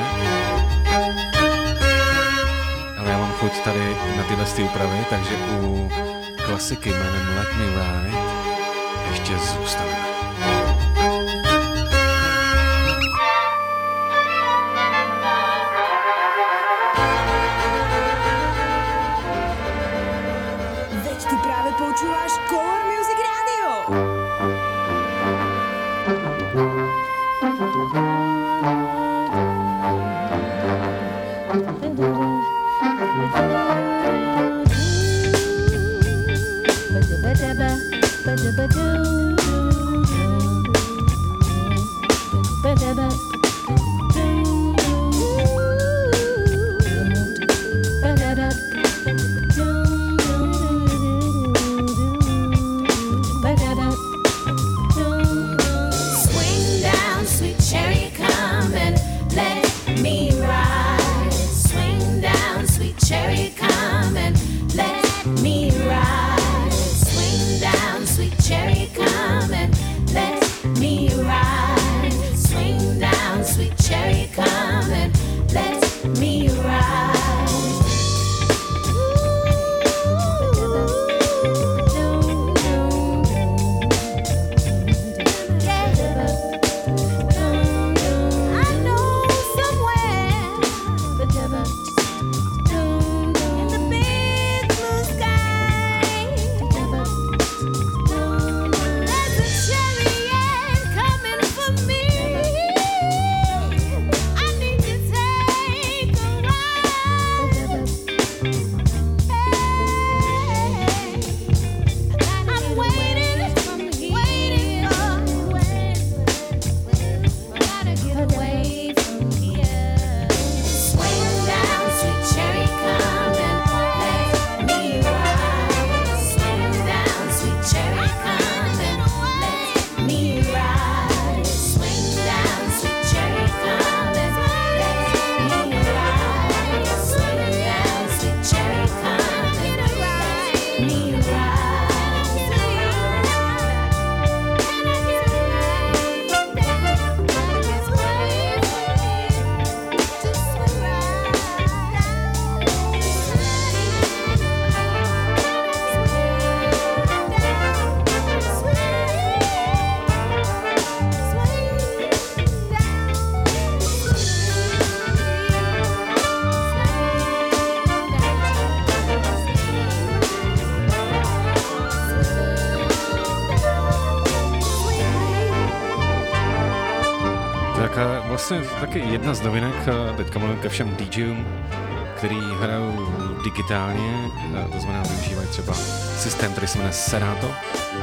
Ale já mám chuť tady na tyhle ty úpravy, takže u klasiky jménem Let Me Ride ještě zůstaneme. Veď ty právě počúvaš Color Music Radio. Vlastně taky jedna z novinek, teďka mluvím ke všem DJům, který hrajou digitálně, to znamená využívají třeba systém, který se jmenuje Serato.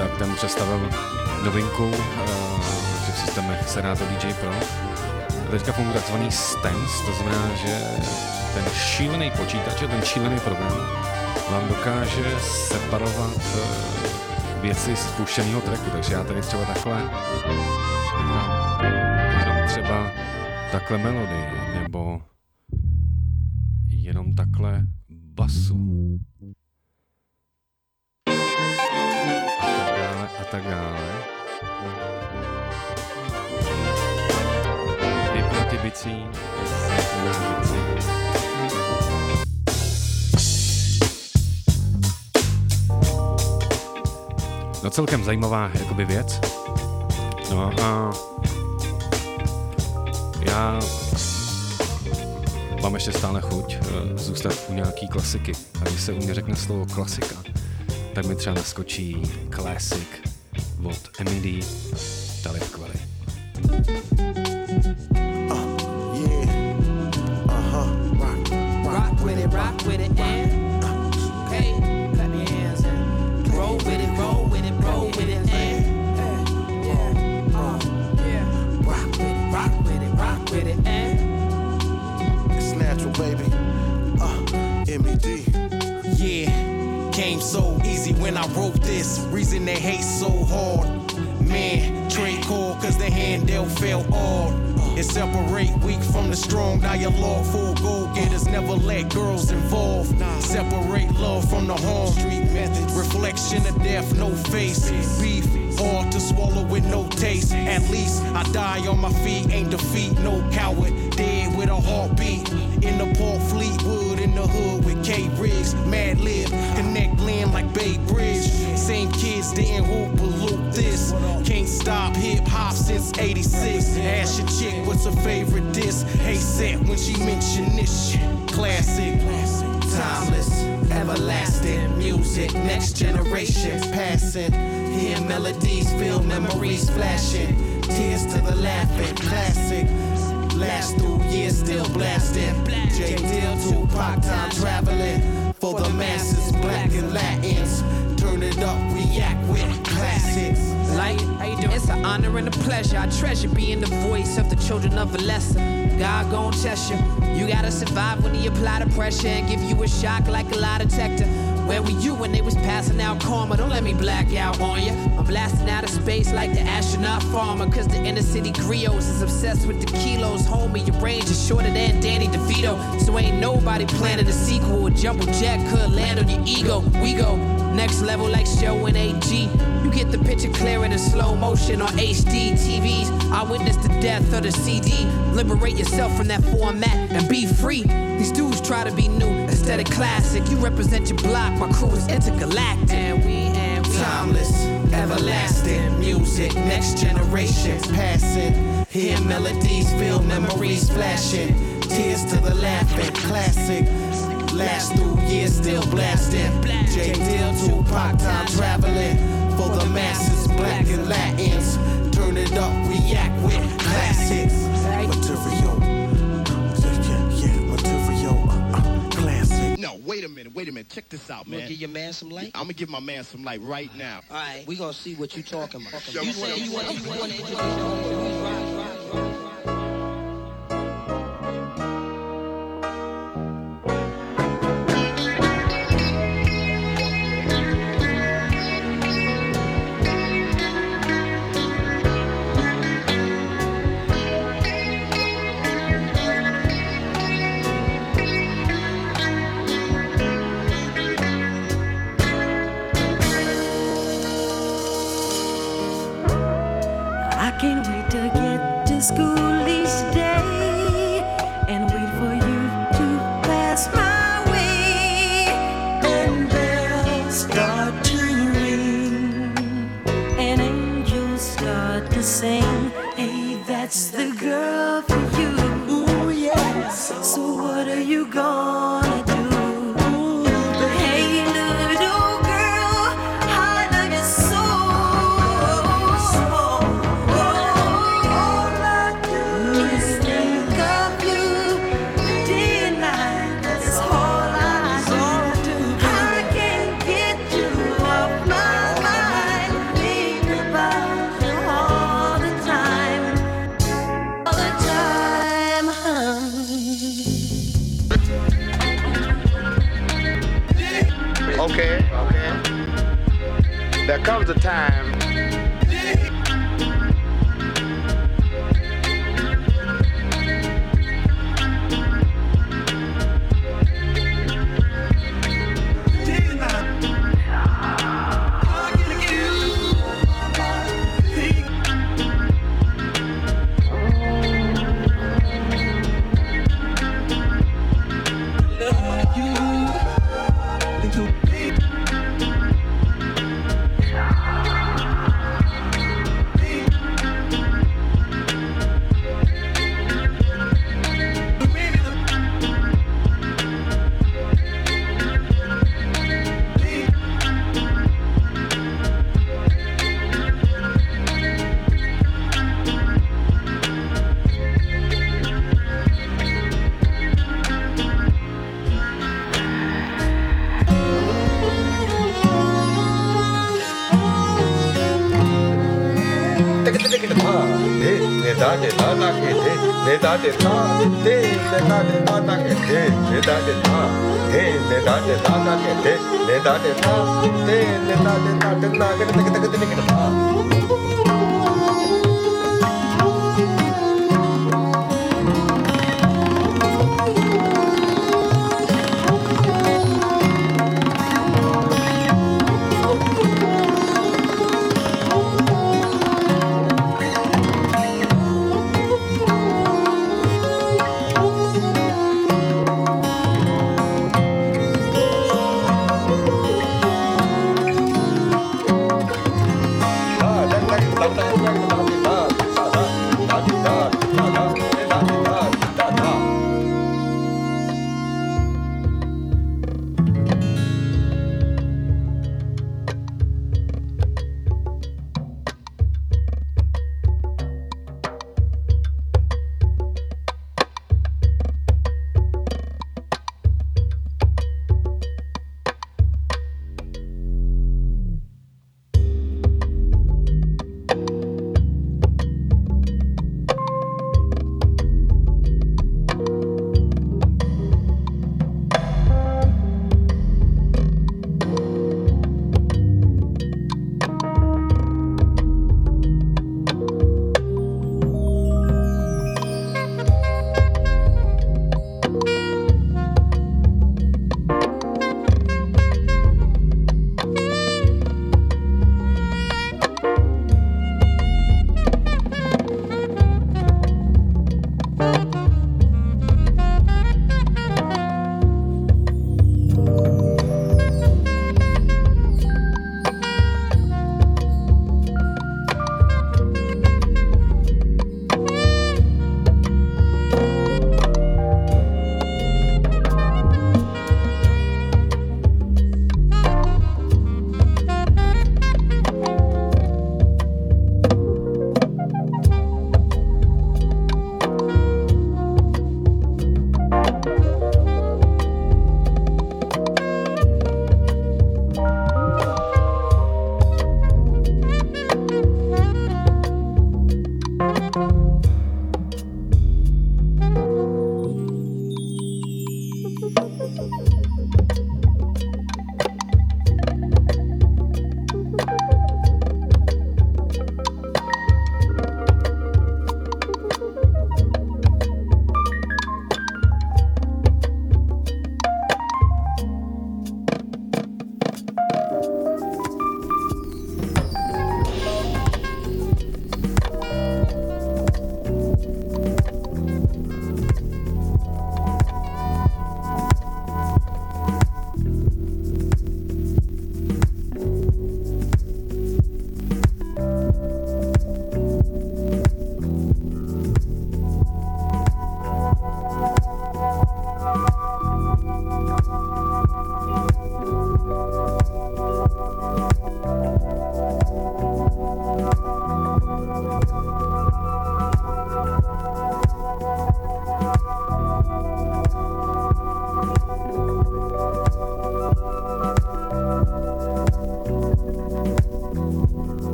tak ten představil novinku uh, v těch systémech Serato D J Pro. Teďka funguje takzvaný stance, to znamená, že ten šílený počítač a ten šílený program vám dokáže separovat uh, věci z puštěného tracku, takže já tady třeba takhle jenom třeba takhle melodii, nebo jenom takhle basu. A tak dále, a tak dále. Vypnutý bicí, bicí. No celkem zajímavá jakoby věc. No a já mám ještě stále chuť uh, zůstat u nějaký klasiky. A když se u mě řekne slovo klasika, tak mi třeba naskočí Classic od M E D, Talib Kweli. Rock with it, rock with it, and okay, clap your hands and roll with it, roll with it, roll with it, and yeah, uh, yeah, rock with it, rock with it, rock with it, and It's natural, baby. Uh, M E D. yeah, came so easy when I wrote this. Reason they hate so hard, man. Trade call 'cause the hand dealt fell hard. It separate weak from the strong. Dialogue for go-getters, never let girls involved. Separate love from the harm. Street methods, reflection of death, no face. Beef, hard to swallow with no taste. At least I die on my feet, ain't defeat, no coward. Dead with a heartbeat. In the Port Fleetwood, in the hood with K Riggs. Mad Lib, connect land like Bay Bridge. Same kids didn't hoop or loop this. Can't stop hip hop since eighty-six. Ask your chick what's her favorite diss. Hey set when she mention this shit. Classic, timeless, everlasting music. Next generation passing. Hear melodies, feel memories flashing. Tears to the laughing, classic. Last through years still blasting. J. Dill, Tupac, time traveling. For the masses, black and Latins. Turn it up, react with classics. Like, how you doing? It's an honor and a pleasure. I treasure being the voice of the children of a lesser. God gon' test you. You gotta survive when he apply the pressure and give you a shock like a lie detector. Where were you when they was passing out karma? Don't let me black out on you. I'm blasting out of space like the astronaut farmer. 'Cause the inner city griots is obsessed with the kilos. Homie, your range is shorter than Danny DeVito. So ain't nobody planning a sequel. A jumbo jet could land on your ego. We go next level like show in A G. You get the picture clearer than slow motion on H D T Vs. I witnessed the death of the C D. Liberate yourself from that format and be free. These dudes try to be new instead of classic. You represent your block, my crew is intergalactic. And we, and we timeless, everlasting music. Next generations passing. Hear melodies, feel memories flashing. Tears to the laughing, classic. Last through years still blasting. J. Dill, Tupac, time traveling. For the masses, black and Latins. Turn it up, react with classics. Material. Yeah, yeah, material. Uh, uh, classic. No, wait a minute, wait a minute. Check this out, man. You gonna give your man some light? I'm gonna give my man some light right now. All right, we gonna see what you talking about. Yo, You say you want to introduce the homeboy. Who's right, right, right, right. I can't wait to get to school each day and wait for you to pass my way. And bells start to ring and angels start to sing. Hey, that's the girl for you. Ooh, yes. So what are you gonna do? Hey, little girl, I love you so. All I do there comes a time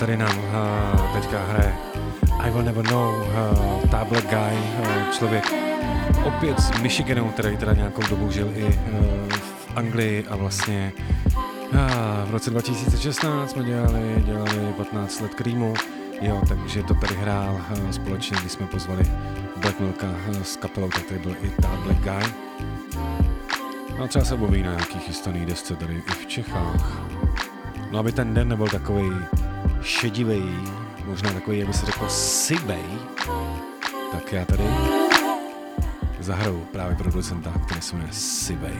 tady nám uh, teďka hraje I Will Never Know, uh, Ta Black Guy, uh, člověk opět z Michiganu, který teda nějakou dobu žil i uh, v Anglii a vlastně uh, v roce dva tisíce šestnáct jsme dělali, dělali patnáct let Creamu, jo, takže to tady hrál uh, společně, když jsme pozvali Black Milka uh, s kapelou, tak tady byl i Ta Black Guy. No a třeba se objeví na nějakých chystaných desce tady i v Čechách. No aby ten den nebyl takovej šedivej, možná takový, jak by se řekl, sivej, tak já tady zahraju právě producenta, který se jmenuje Sivej.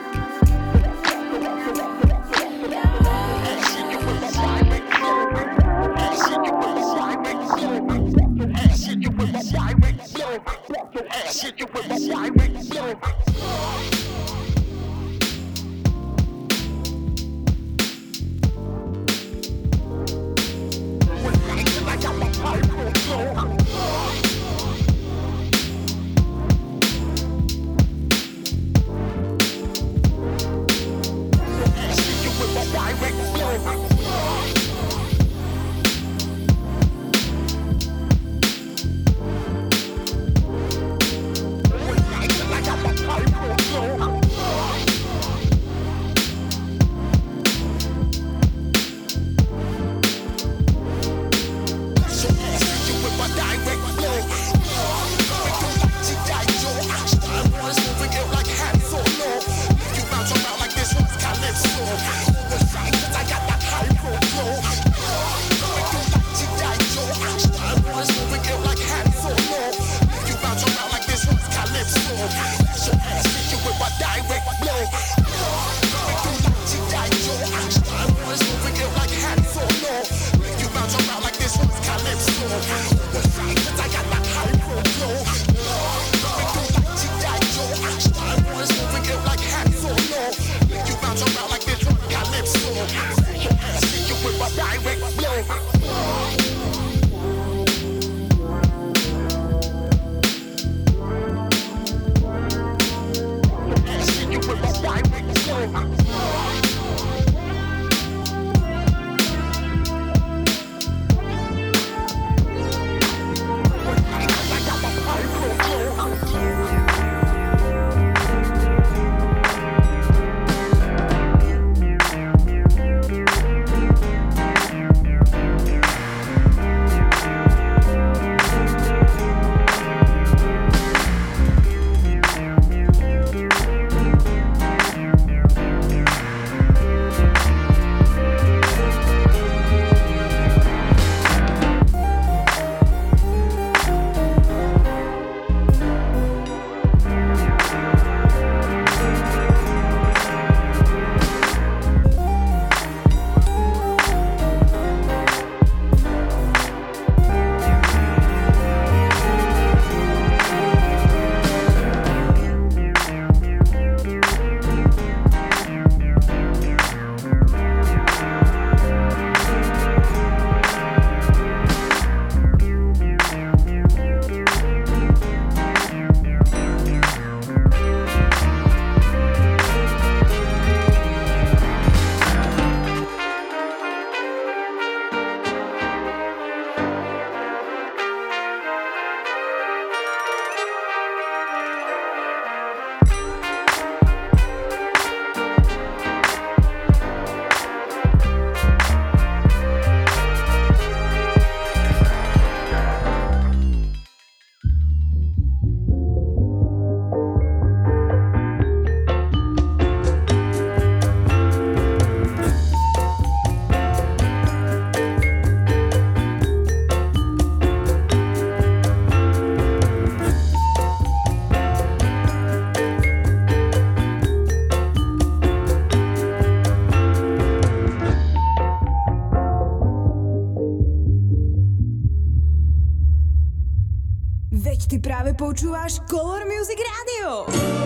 Ty práve počúvaš Color Music Radio.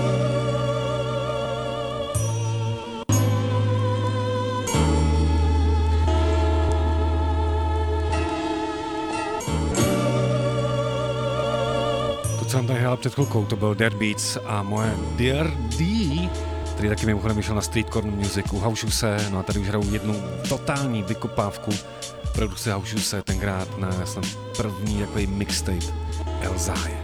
To, co jsem tady hrál před chvilkou, to byl Dead Beats a moje Dear D, který taky mimochodem vyšel na Street Corner Music, u Haušuse, no a tady už hraju jednu totální vykopávku produkce House se tenkrát na snad první takový mixtape Elzáje.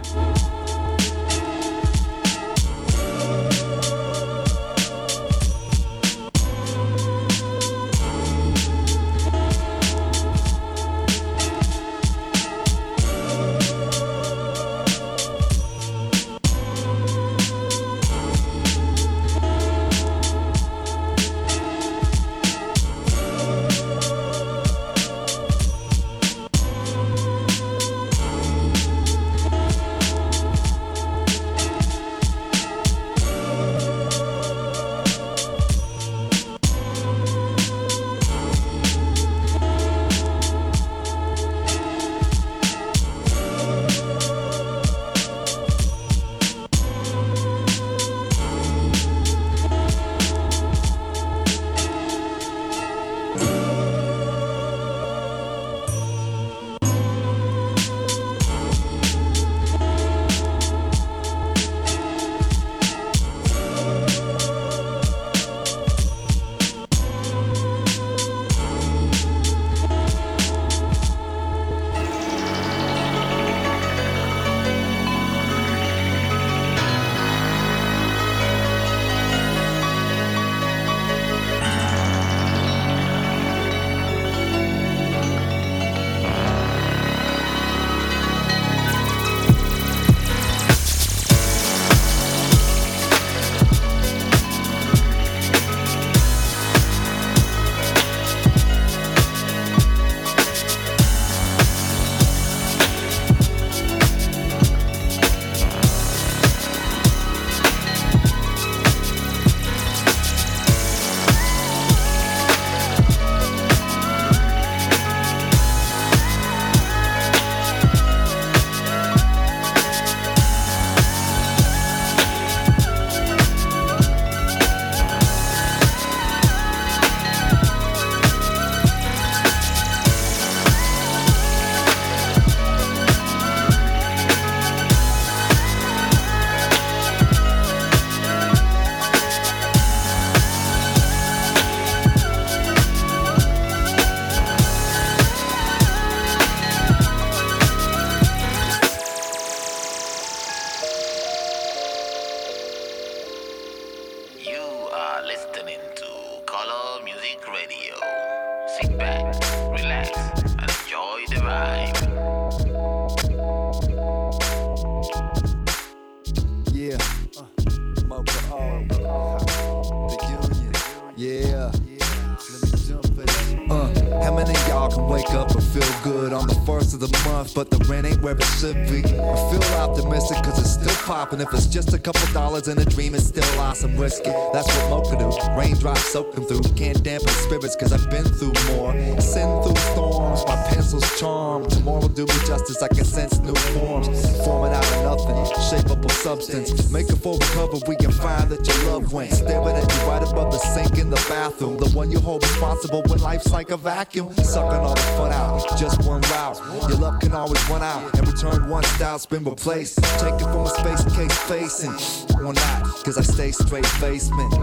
But the rent ain't where it should be. I feel optimistic cause it's still popping. If it's just a couple dollars and a dream, it's still awesome. Risk it, that's what Mocha do. Raindrops soaking through. Can't dampen spirits cause I've been through more. Sin through storms, my pencil's charmed. Tomorrow do me justice, I can sense new forms. Forming out of nothing, shapeable substance. Make a full recovery and find that your love went. Staring at you right above the sink in the bathroom. The one you hold responsible when life's like a vacuum. Sucking all the fun out, just one route. Your love can always run out and return one style, been replaced. Take it from a space case facing or not, cause I stay straight basement.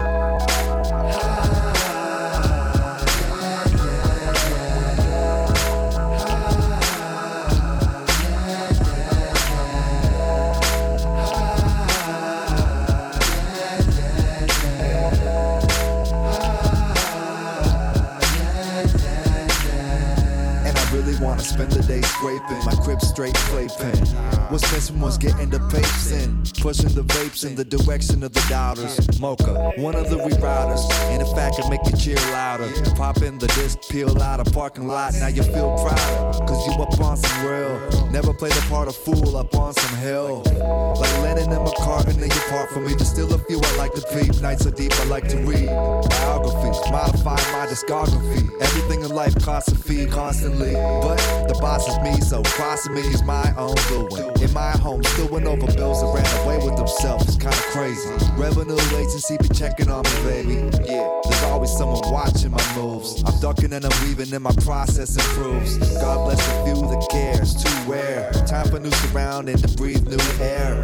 Wanna spend the day scraping my crib straight playpen. What's missing was getting the papes in, pushing the vapes in the direction of the doubters. Mocha, one of the rerouters, and if I could make you cheer louder, pop in the disc, peel out a parking lot. Now you feel proud, cause you up on some real. Never play the part of fool up on some hill. Like Lennon and McCartney, you part from me. There's still a few I like to peep. Nights are deep, I like to read biographies, modify my discography. Everything in life costs a fee constantly, but the boss is me, so crossing me is my own doing. In my home, still went over bills that ran away with themselves. It's kinda crazy. Revenue agency be checking on me, baby. Yeah, there's always someone watching my moves. I'm ducking and I'm weaving and my process improves. God bless the few that cares, too rare. Time for new surrounding to breathe new air.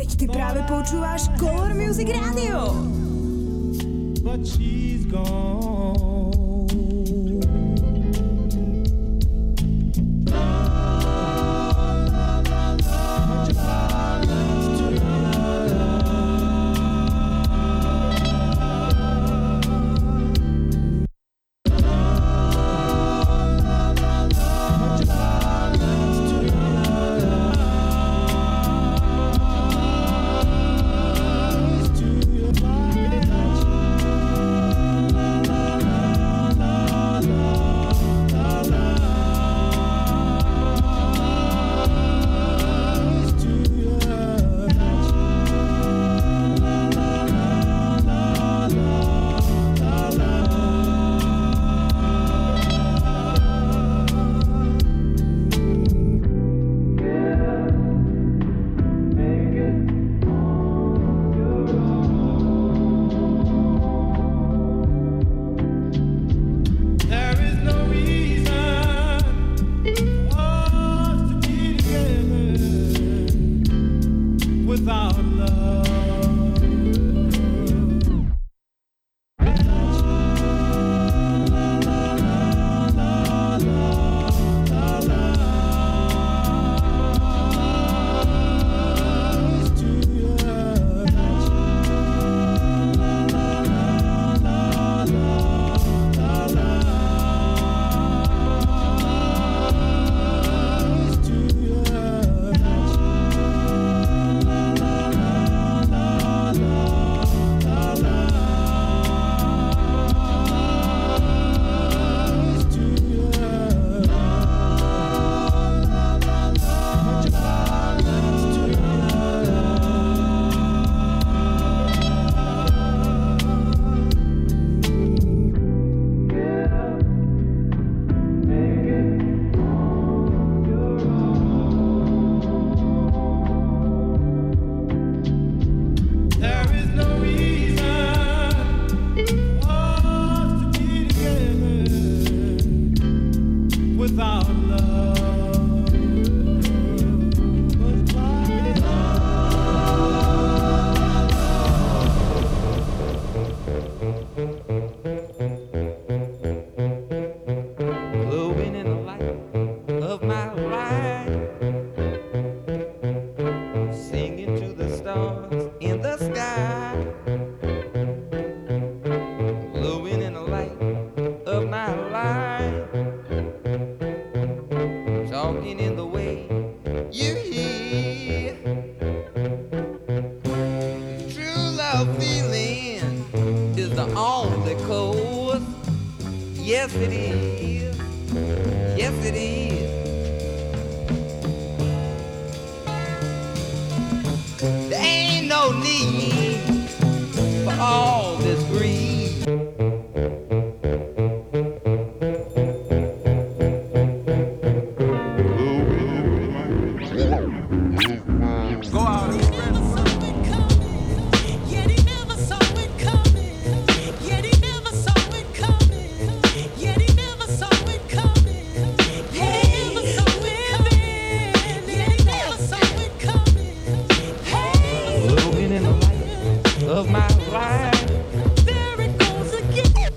Veď ty právě počúváš Color Music Radio. But she's gone. Yes, it is. Yes, it is. There ain't no need for all this greed. Go out and of my life. There it goes again.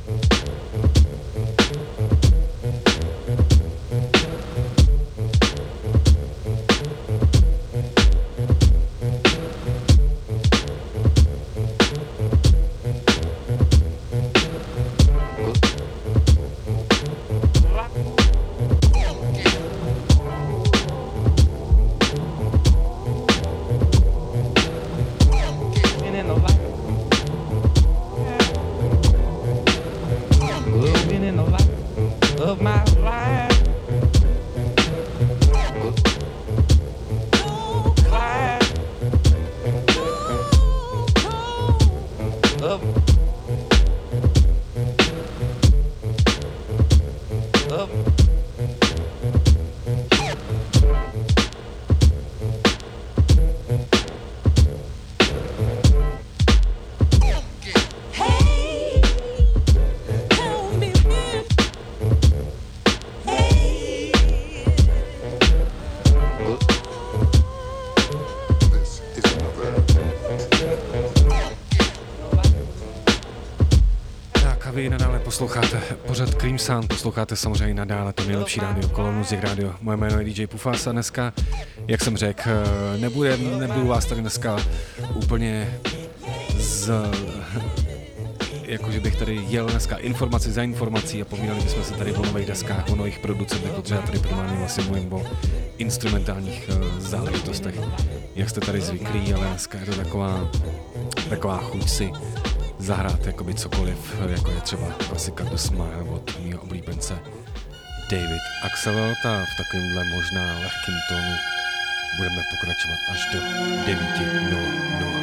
In the light vy nadále posloucháte pořad Cream Sound, posloucháte samozřejmě nadále to nejlepší rádio, Color Music Radio. Moje jméno je D J Pufas a dneska, jak jsem řekl, nebude, nebudu vás tady dneska úplně z... jakože bych tady jel dneska informaci za informací a povídali bychom se tady o nových deskách, o nových producentech, protože já tady primárně vlastně mluvím o instrumentálních uh, záležitostech, jak jste tady zvyklí, ale dneska je to taková, taková chuť si zahrát jakoby cokoliv, jako je třeba klasika The Smile od mýho oblíbence David Axelrod a v takovémhle možná lehkým tónu budeme pokračovat až do devět nula nula.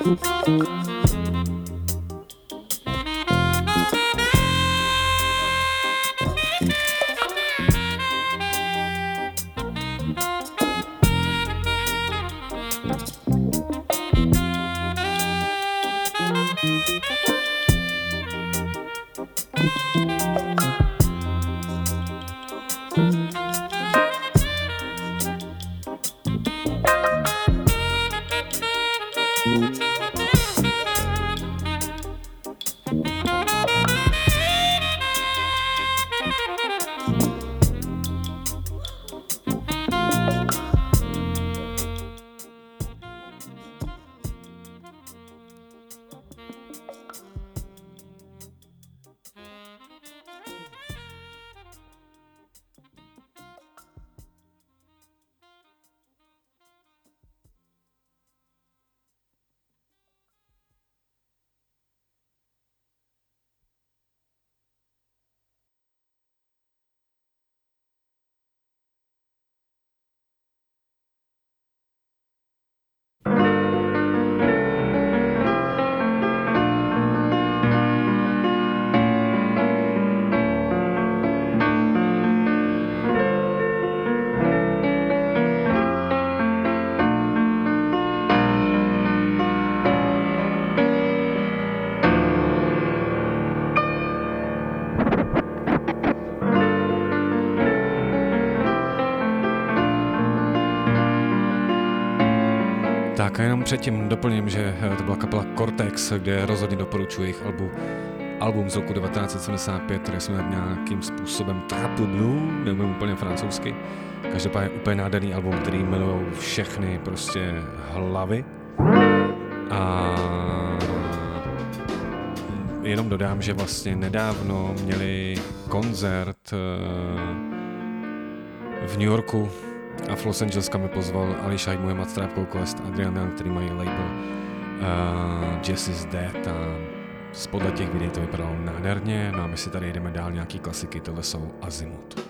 Tak a jenom předtím doplním, že to byla kapela Cortex, kde rozhodně doporučuji jejich album, album z roku devatenáct set sedmdesát pět, které jsme nějakým způsobem Trapu Blue, nevím úplně francouzsky. Každopádně úplně nádherný album, který jmenují všechny prostě hlavy. A jenom dodám, že vlastně nedávno měli koncert v New Yorku a v Los Angeles, kam mi pozval Ali Shaib, Muhammad Strápkou Quest, Adrian Young, který mají label uh, Jazz is Dead a spodle těch videí to vypadalo nádherně. No a my si tady jdeme dál nějaký klasiky, tohle jsou Azimut.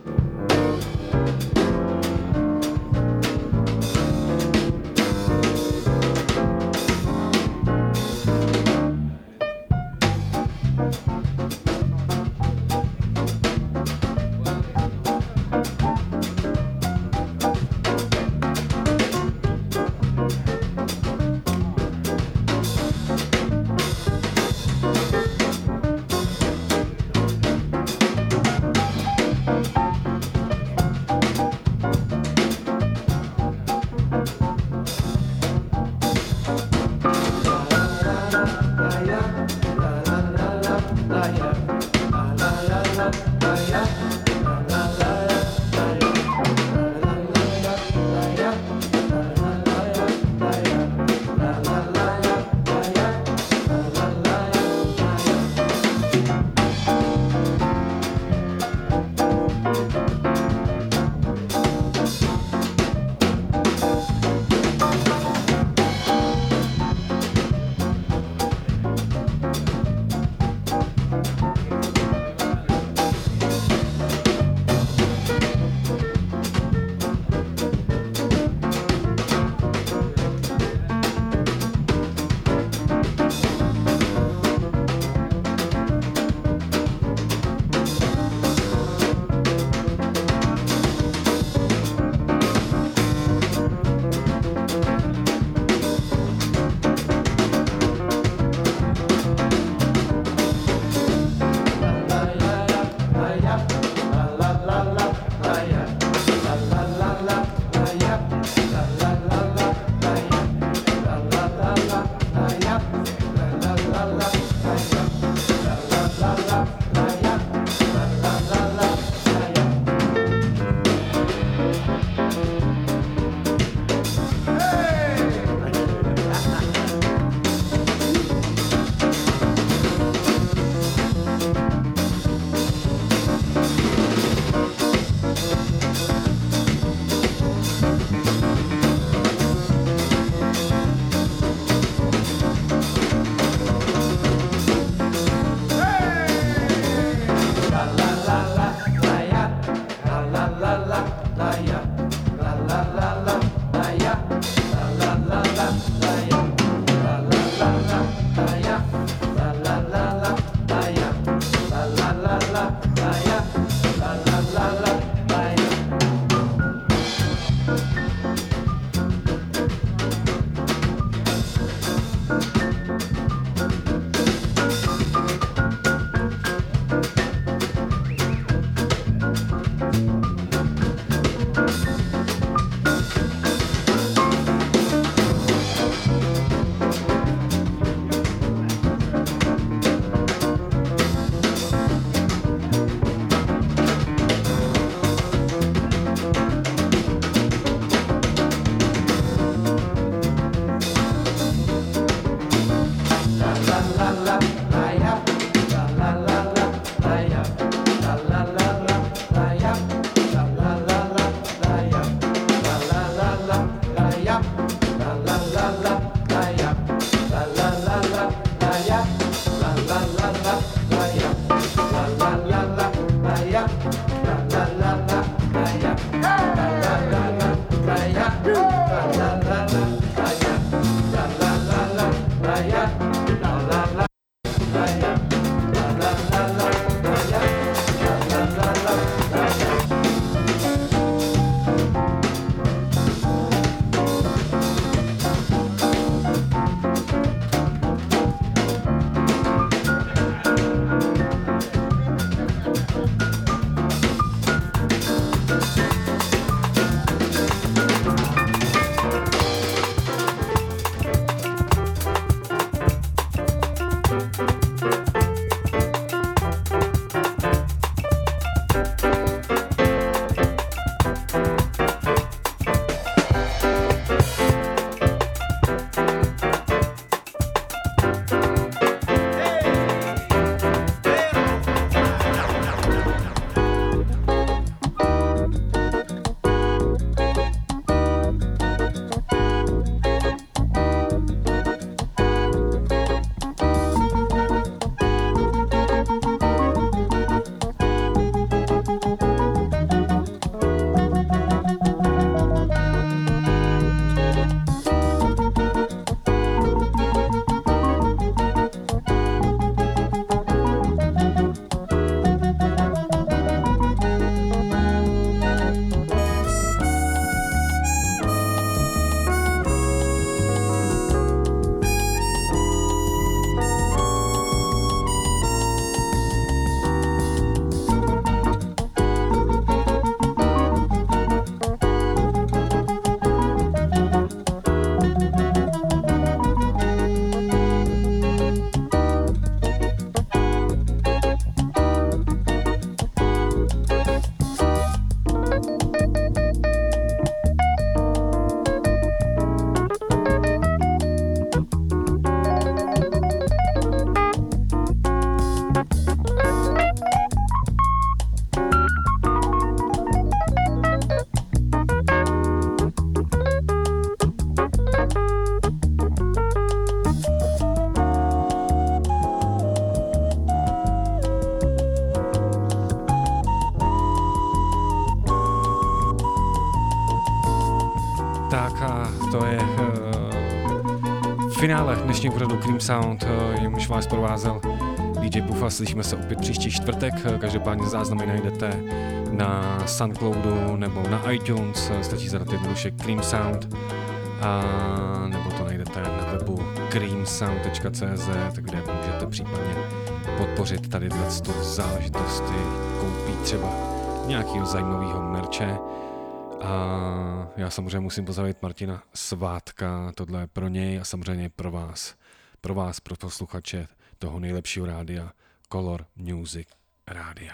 Tak a to je uh, finále dnešního pořadu Cream Sound, uh, jemuž vás provázel D J Pufa. Slyšíme se opět příští čtvrtek, každopádně záznamy najdete na Soundcloudu nebo na iTunes, stačí zadat jednoduše Cream Sound, a nebo to najdete na webu cream sound tečka cé zet, kde můžete případně podpořit tady tu záležitosti, koupit třeba nějakého zajímavého merče. A já samozřejmě musím pozdravit Martina Svátka, tohle je pro něj a samozřejmě pro vás, pro vás, pro posluchače toho nejlepšího rádia, Color Music Rádia.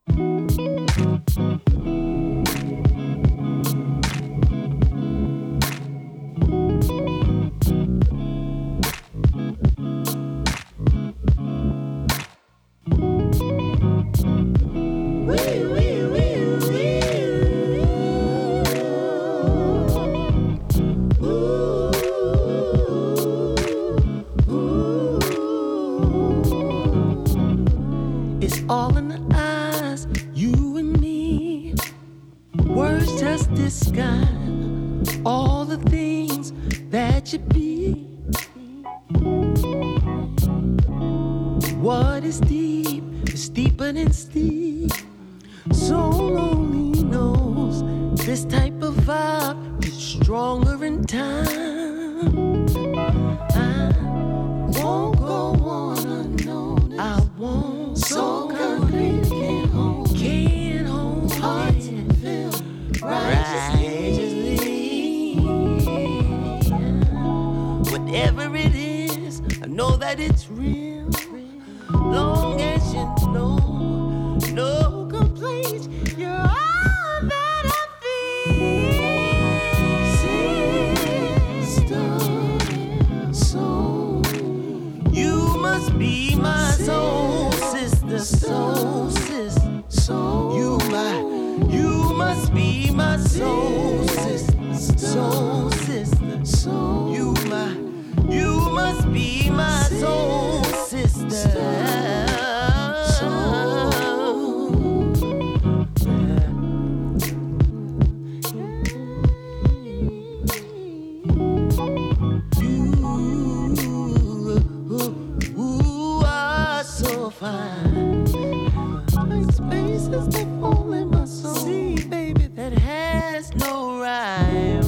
All in the eyes, you and me. Words just describe all the things that you be. What is deep is deeper than steep. Soul only knows this type of vibe is stronger in time. I won't go on unnoticed. I won't. So concrete, can't hold, can't hold hearts and feel righteously. Whatever it is, I know that it's real. Long as you know, no complaints, you're all that I feel. Sister, soul, you must be my soul. Soul, sister, soul, you my, you must be my soul, sister, soul, sister, soul, you my, you must be my soul, sister. Spaces that fall in my soul. See, baby, that has no rhyme.